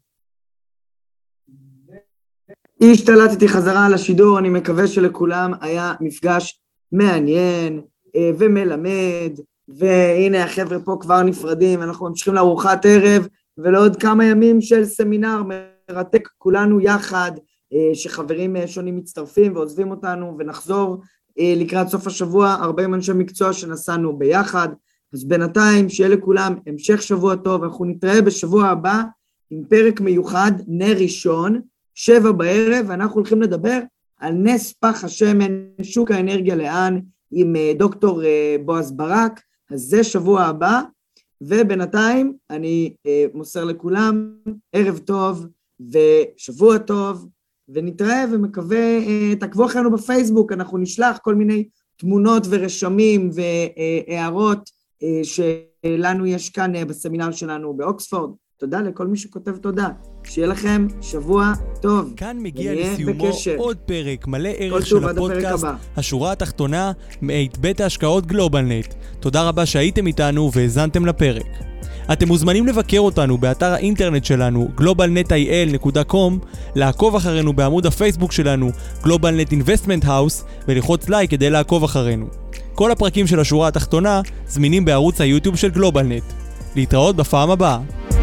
השתלטתי חזרה על השידור, אני מקווה שלכולם היה מפגש מעניין ומלמד, והנה החבר'ה פה כבר נפרדים, אנחנו ממשיכים לארוחת ערב, ולעוד כמה ימים של סמינר מרתק כולנו יחד, שחברים שונים מצטרפים ועוזבים אותנו, ונחזור לקראת סוף השבוע, 40 אנשי מקצוע שנסענו ביחד, אז בינתיים שיהיה לכולם המשך שבוע טוב, אנחנו נתראה בשבוע הבא עם פרק מיוחד, נר ראשון, 7 בערב, ואנחנו הולכים לדבר על נס פח השמן, שוק האנרגיה לאן, עם דוקטור בועז ברק, אז זה שבוע הבא, ובינתיים אני מוסר לכולם ערב טוב ושבוע טוב, ונתראה ומקווה, תעקבו אחרינו בפייסבוק, אנחנו נשלח כל מיני תמונות ורשמים והערות שלנו יש כאן בסמינר שלנו באוקספורד. תודה לכל מי שכותב תודה. שיהיה לכם שבוע טוב. כאן מגיע לסיומו עוד פרק מלא ערך של הפודקאסט, השורה התחתונה, מאת בית ההשקעות גלובלנט. תודה רבה שהייתם איתנו והזנתם לפרק. אתם מוזמנים לבקר אותנו באתר האינטרנט שלנו globalnetil.com, לעקוב אחרינו בעמוד הפייסבוק שלנו GlobalNet Investment House ולחוץ לייק כדי לעקוב אחרינו. כל הפרקים של השורה התחתונה זמינים בערוץ היוטיוב של גלובלנט. להתראות בפעם הבאה.